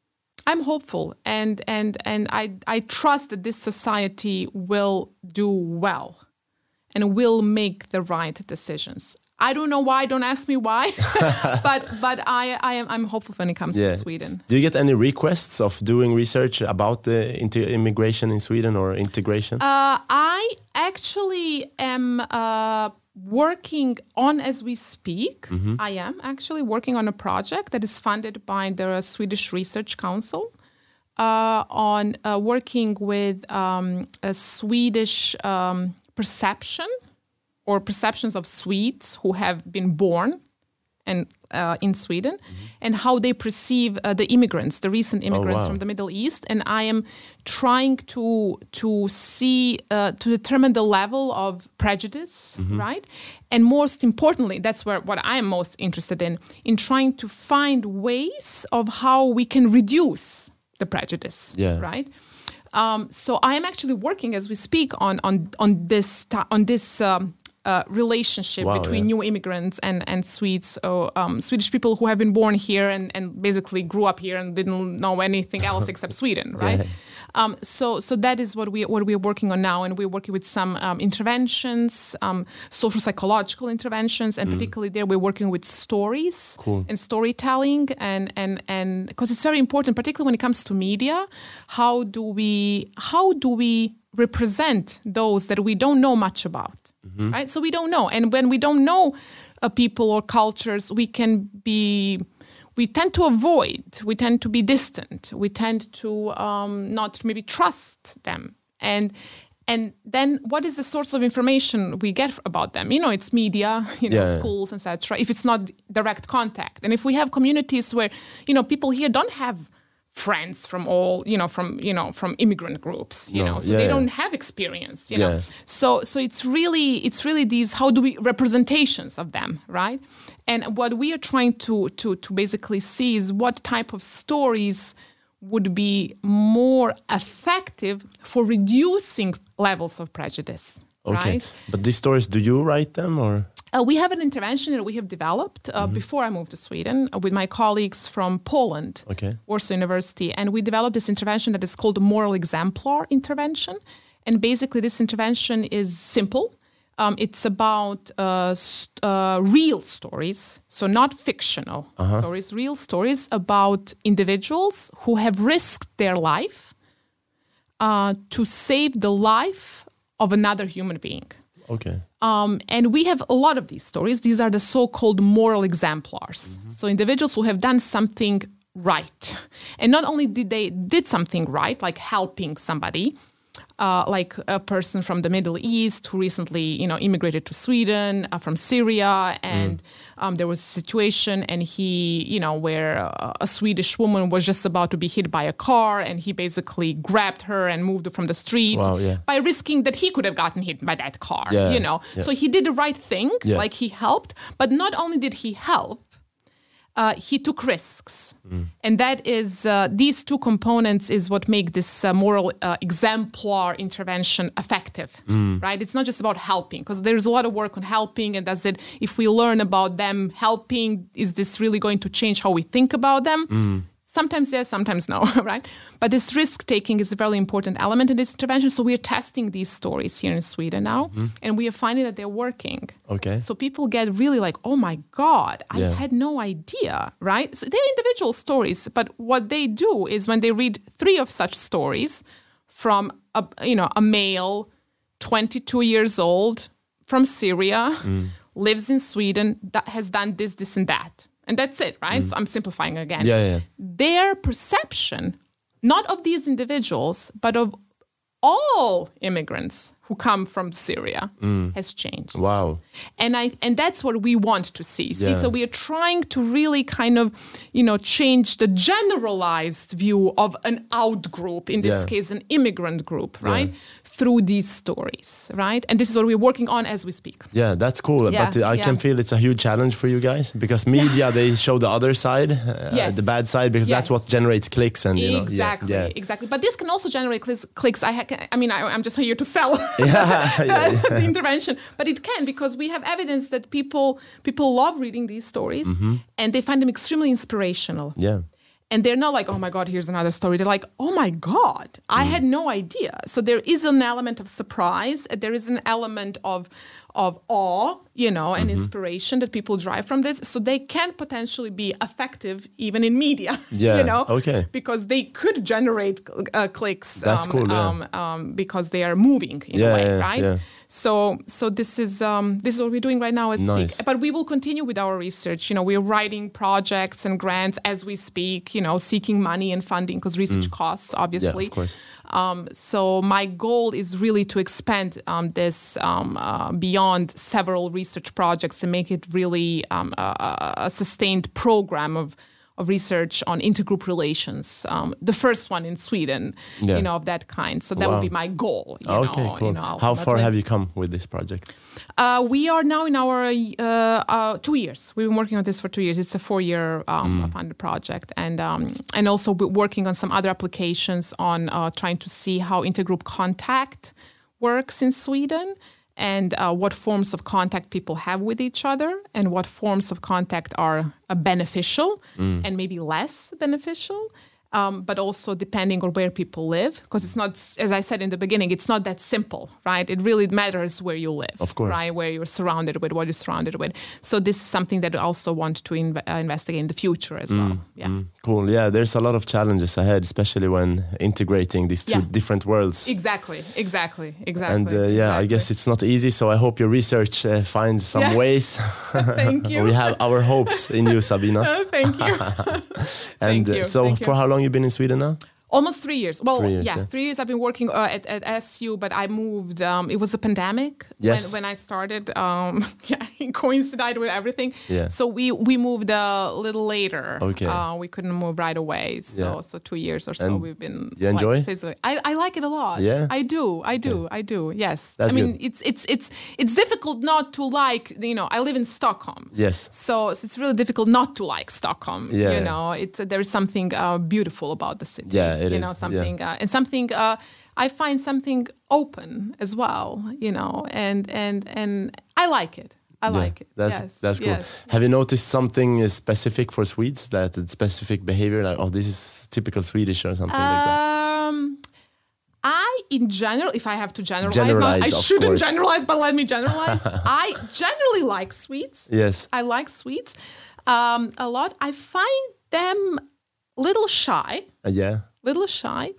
I'm hopeful, and and and I I trust that this society will do well and will make the right decisions. I don't know why. Don't ask me why, but but I I am I'm hopeful when it comes Yeah. to Sweden. Do you get any requests of doing research about the inter- immigration in Sweden or integration? Uh, I actually am uh, working on, as we speak, Mm-hmm. I am actually working on a project that is funded by the Swedish Research Council uh, on uh, working with um, a Swedish um, perception or perceptions of Swedes who have been born and uh, in Sweden, mm-hmm. and how they perceive uh, the immigrants, the recent immigrants oh, wow. from the Middle East. And I am trying to to see, uh, to determine the level of prejudice, mm-hmm. right? And most importantly, that's where what I am most interested in, in trying to find ways of how we can reduce the prejudice, Yeah. right? Um, so I am actually working as we speak on on on this ta- on this um, uh, relationship Wow, between yeah. new immigrants and and Swedes, or um, Swedish people who have been born here and, and basically grew up here and didn't know anything else except Sweden, right? Yeah. Um, so so that is what we what we are working on now, and we're working with some um, interventions, um, social psychological interventions, and mm. particularly there we're working with stories cool. and storytelling, and and and because it's very important, particularly when it comes to media. How do we how do we represent those that we don't know much about, mm-hmm. right? So we don't know, and when we don't know uh, people or cultures, we can be. We tend to avoid, we tend to be distant, we tend to um, not maybe trust them. And and then what is the source of information we get about them? You know, it's media, you know, yeah. schools, et cetera. If it's not direct contact. And if we have communities where, you know, people here don't have friends from all, you know, from, you know, from immigrant groups, you no. know, so yeah, they yeah. don't have experience, you yeah. know. So so it's really, it's really these, how do we, representations of them, right? And what we are trying to, to, to basically see is what type of stories would be more effective for reducing levels of prejudice, Okay. right? But these stories, do you write them or? Uh, we have an intervention that we have developed uh, mm-hmm. before I moved to Sweden uh, with my colleagues from Poland, okay. Warsaw University, and we developed this intervention that is called the moral exemplar intervention. And basically this intervention is simple. Um, it's about uh, st- uh, real stories, so not fictional uh-huh. stories, real stories about individuals who have risked their life uh, to save the life of another human being. Okay. Um, and we have a lot of these stories. These are the so-called moral exemplars. Mm-hmm. So individuals who have done something right. And not only did they did something right, like helping somebody, uh, like a person from the Middle East who recently, you know, immigrated to Sweden uh, from Syria, and mm. um, there was a situation, and he, you know, where uh, a Swedish woman was just about to be hit by a car, and he basically grabbed her and moved her from the street wow, yeah. by risking that he could have gotten hit by that car, yeah, you know. Yeah. So he did the right thing, yeah. like he helped, but not only did he help, Uh, he took risks. Mm. And that is, uh, these two components is what make this uh, moral uh, exemplar intervention effective, mm. right? It's not just about helping, because there's a lot of work on helping, and does it, if we learn about them helping, is this really going to change how we think about them? Mm. Sometimes yes, sometimes no, right? But this risk-taking is a very important element in this intervention. So we are testing these stories here in Sweden now, mm-hmm. and we are finding that they're working. Okay. So people get really like, oh my God, I yeah. had no idea, right? So they're individual stories, but what they do is when they read three of such stories from a, you know, a male, twenty-two years old, from Syria, mm. lives in Sweden, that has done this, this, and that. And that's it, right? Mm. So I'm simplifying again. Yeah, yeah. Their perception, not of these individuals, but of all immigrants who come from Syria, mm. has changed. Wow. And I and that's what we want to see. See, yeah. so we are trying to really kind of, you know, change the generalized view of an out group, in this yeah. case, an immigrant group, right? Yeah. Through these stories, right? And this is what we're working on as we speak. Yeah, that's cool. Yeah, but uh, I yeah. can feel it's a huge challenge for you guys, because media, yeah. they show the other side, uh, yes. the bad side, because yes. that's what generates clicks. And you know, exactly, yeah, yeah. exactly. But this can also generate clicks. clicks. I, ha- I mean, I, I'm just here to sell yeah, the, yeah, yeah. the intervention, but it can, because we have evidence that people people love reading these stories, mm-hmm. and they find them extremely inspirational. Yeah. And they're not like, oh my God, here's another story. They're like, oh my God, I mm. had no idea. So there is an element of surprise. There is an element of of awe, you know, and mm-hmm. inspiration that people derive from this. So they can potentially be effective even in media, yeah. you know, okay. because they could generate uh, clicks. That's um, cool, yeah. um, um, because they are moving in yeah, a way, yeah, right? Yeah. So, so this is um, this is what we're doing right now as we nice. speak. But we will continue with our research. You know, we're writing projects and grants as we speak. You know, seeking money and funding, because research mm. costs, obviously. Yeah, of course. Um, so my goal is really to expand um, this um, uh, beyond several research projects and make it really um, a, a sustained program of. of research on intergroup relations, um, the first one in Sweden, yeah. you know, of that kind. So that wow. would be my goal. You okay, know, cool. You know, how far have you come with this project? Uh, we are now in our uh, uh, two years. We've been working on this for two years. It's a four-year um, mm. funded project, and um, and also we're working on some other applications on uh, trying to see how intergroup contact works in Sweden. And uh, what forms of contact people have with each other, and what forms of contact are uh, beneficial mm. and maybe less beneficial, um, but also depending on where people live. Because it's not, as I said in the beginning, it's not that simple, right? It really matters where you live, of course, right? Where you're surrounded with, what you're surrounded with. So this is something that I also want to inv- uh, investigate in the future as mm. well. Yeah. Mm. Cool. Yeah, there's a lot of challenges ahead, especially when integrating these two yeah. different worlds. Exactly, exactly, exactly. And uh, yeah, exactly. I guess it's not easy. So I hope your research uh, finds some yeah. ways. Thank you. We have our hopes in you, Sabina. Uh, thank you. And thank you. Uh, so, thank for you. how long you been in Sweden now? Almost three years. Well, three years, yeah, yeah, three years I've been working uh, at, at S U, but I moved, um, it was a pandemic yes. when, when I started. Um, yeah, it coincided with everything. Yeah. So we, we moved a little later. Okay. Uh, we couldn't move right away. So yeah. so two years or so and we've been. You enjoy? Like, physically. I, I like it a lot. Yeah. I do. I do. Okay. I do. Yes. That's I mean, good. it's it's it's it's difficult not to like, you know, I live in Stockholm. Yes. So, so it's really difficult not to like Stockholm. Yeah. You know, it's uh, there is something uh, beautiful about the city. Yeah, it you is. know, something. Yeah. Uh, and something uh, I find something open as well, you know, and and and I like it. I yeah, like it. That's yes, that's cool. yes. Have you noticed something specific for Swedes, that specific behavior, like, oh, this is typical Swedish or something um, like that? I in general, if I have to generalize, Generalize, now, I of shouldn't course. generalize, but let me generalize. I generally like sweets. Yes. I like sweets um, a lot. I find them little shy, Uh, yeah. little shy.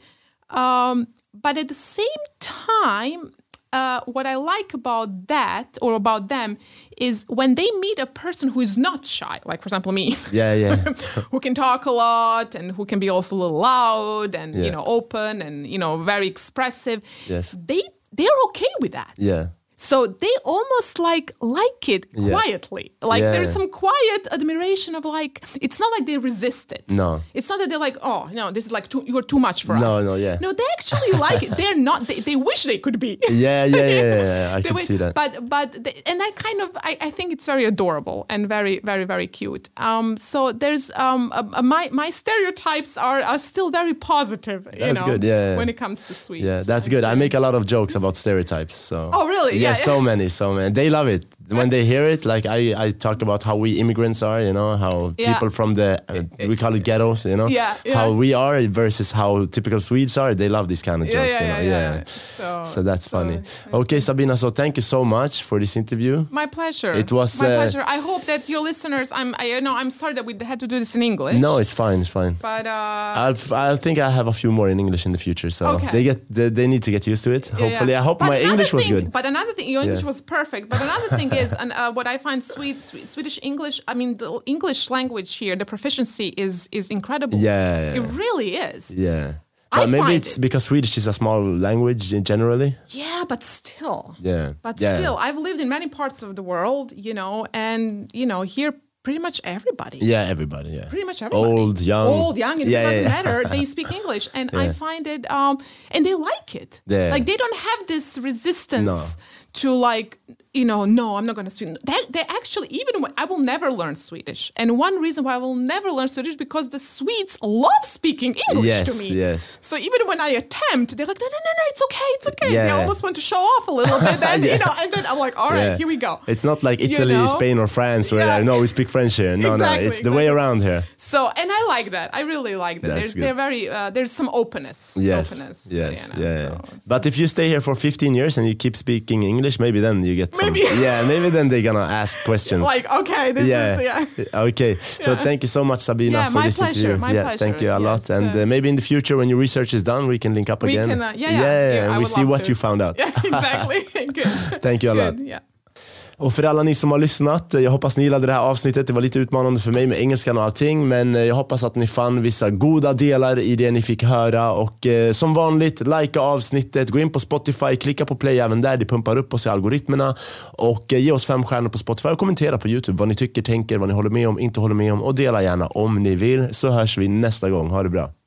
Um, but at the same time, uh, what I like about that or about them is when they meet a person who is not shy, like for example me, Yeah, yeah. who can talk a lot and who can be also a little loud and Yeah. you know open and you know very expressive. Yes. They they're okay with that. Yeah. So they almost like like it Yeah. quietly. Like Yeah. there's some quiet admiration of like, it's not like they resist it. No. It's not that they're like, oh, no, this is like too, you're too much for No, us. no, yeah. No, they actually like it. They're not, they, they wish they could be. Yeah, yeah, yeah, yeah, yeah. I They can wish- see that. But, but, they, and I kind of, I, I think it's very adorable and very, very, very cute. Um, so there's, um, uh, uh, my, my stereotypes are, are still very positive, you That's know, good, yeah, yeah. when it comes to sweets. Yeah, that's and good. I so- make a lot of jokes about stereotypes. So. Oh, really? Yeah, Yeah, so yeah. many, so many. They love it when they hear it. Like I, I talk about how we immigrants are. You know, how Yeah. people from the uh, we call it ghettos. You know, Yeah, yeah. how we are versus how typical Swedes are. They love these kind of Yeah, jokes. yeah, you know, yeah, yeah. So, So that's so funny. it's Okay, Sabina. So thank you so much for this interview. My pleasure. It was, my uh, pleasure. I hope that your listeners. I'm. I you know. I'm sorry that we had to do this in English. No, it's fine. It's fine. But uh, I'll, I think I have a few more in English in the future, so Okay. they get they, they need to get used to it. yeah, Hopefully, yeah. I hope But my another English was thing- good. But another thing, your English Yeah. was perfect. But another thing is, and uh, what I find sweet, sweet Swedish English. I mean, the English language here, the proficiency is is incredible. Yeah, yeah, it yeah. really is. Yeah, I but maybe find it's it- because Swedish is a small language in generally. Yeah, but still. Yeah, But yeah. still, I've lived in many parts of the world, you know, and you know, here pretty much everybody. Yeah, everybody. Yeah, Pretty much everybody. Old, young. Old, young, it Yeah, doesn't yeah, yeah. matter. They speak English. And I Yeah. find it, um, and they like it. Yeah. Like they don't have this resistance No. to like, you know, no, I'm not going to speak. They, they actually, even when I will never learn Swedish. And one reason why I will never learn Swedish because the Swedes love speaking English Yes, to me. yes. So even when I attempt, they're like, no, no, no, no, it's okay, it's okay. Yeah. They almost want to show off a little bit. Then, Yeah. you know, and then I'm like, all right, Yeah. here we go. It's not like You Italy, know? Spain, or France where Yeah. like, no, we speak French here. No, no, Exactly, it's the way exactly. around here. So, and I like that. I really like that. That's There's, good. they're very, uh, there's some openness. Yes, openness, yes, you know, yeah. yeah. so- so- But if you stay here for fifteen years and you keep speaking English, maybe then you get some. Maybe. Yeah, maybe then they're gonna ask questions. like, okay, this yeah. is, yeah. Okay. So Yeah. thank you so much, Sabina, Yeah, for my this pleasure, interview. my yeah, pleasure, thank you a yes, lot. And uh, uh, maybe in the future, when your research is done, we can link up We again. can, uh, yeah, yeah, yeah, I and we would see love what to. you found out. Yeah, exactly. Good. Thank you a lot. Good, yeah. Och för alla ni som har lyssnat, jag hoppas ni gillade det här avsnittet. Det var lite utmanande för mig med engelskan och allting, men jag hoppas att ni fann vissa goda delar i det ni fick höra. Och eh, som vanligt, likea avsnittet, gå in på Spotify, klicka på play även där, det pumpar upp oss i algoritmerna. Och eh, ge oss fem stjärnor på Spotify och kommentera på YouTube vad ni tycker, tänker, vad ni håller med om, inte håller med om. Och dela gärna om ni vill, så hörs vi nästa gång. Ha det bra.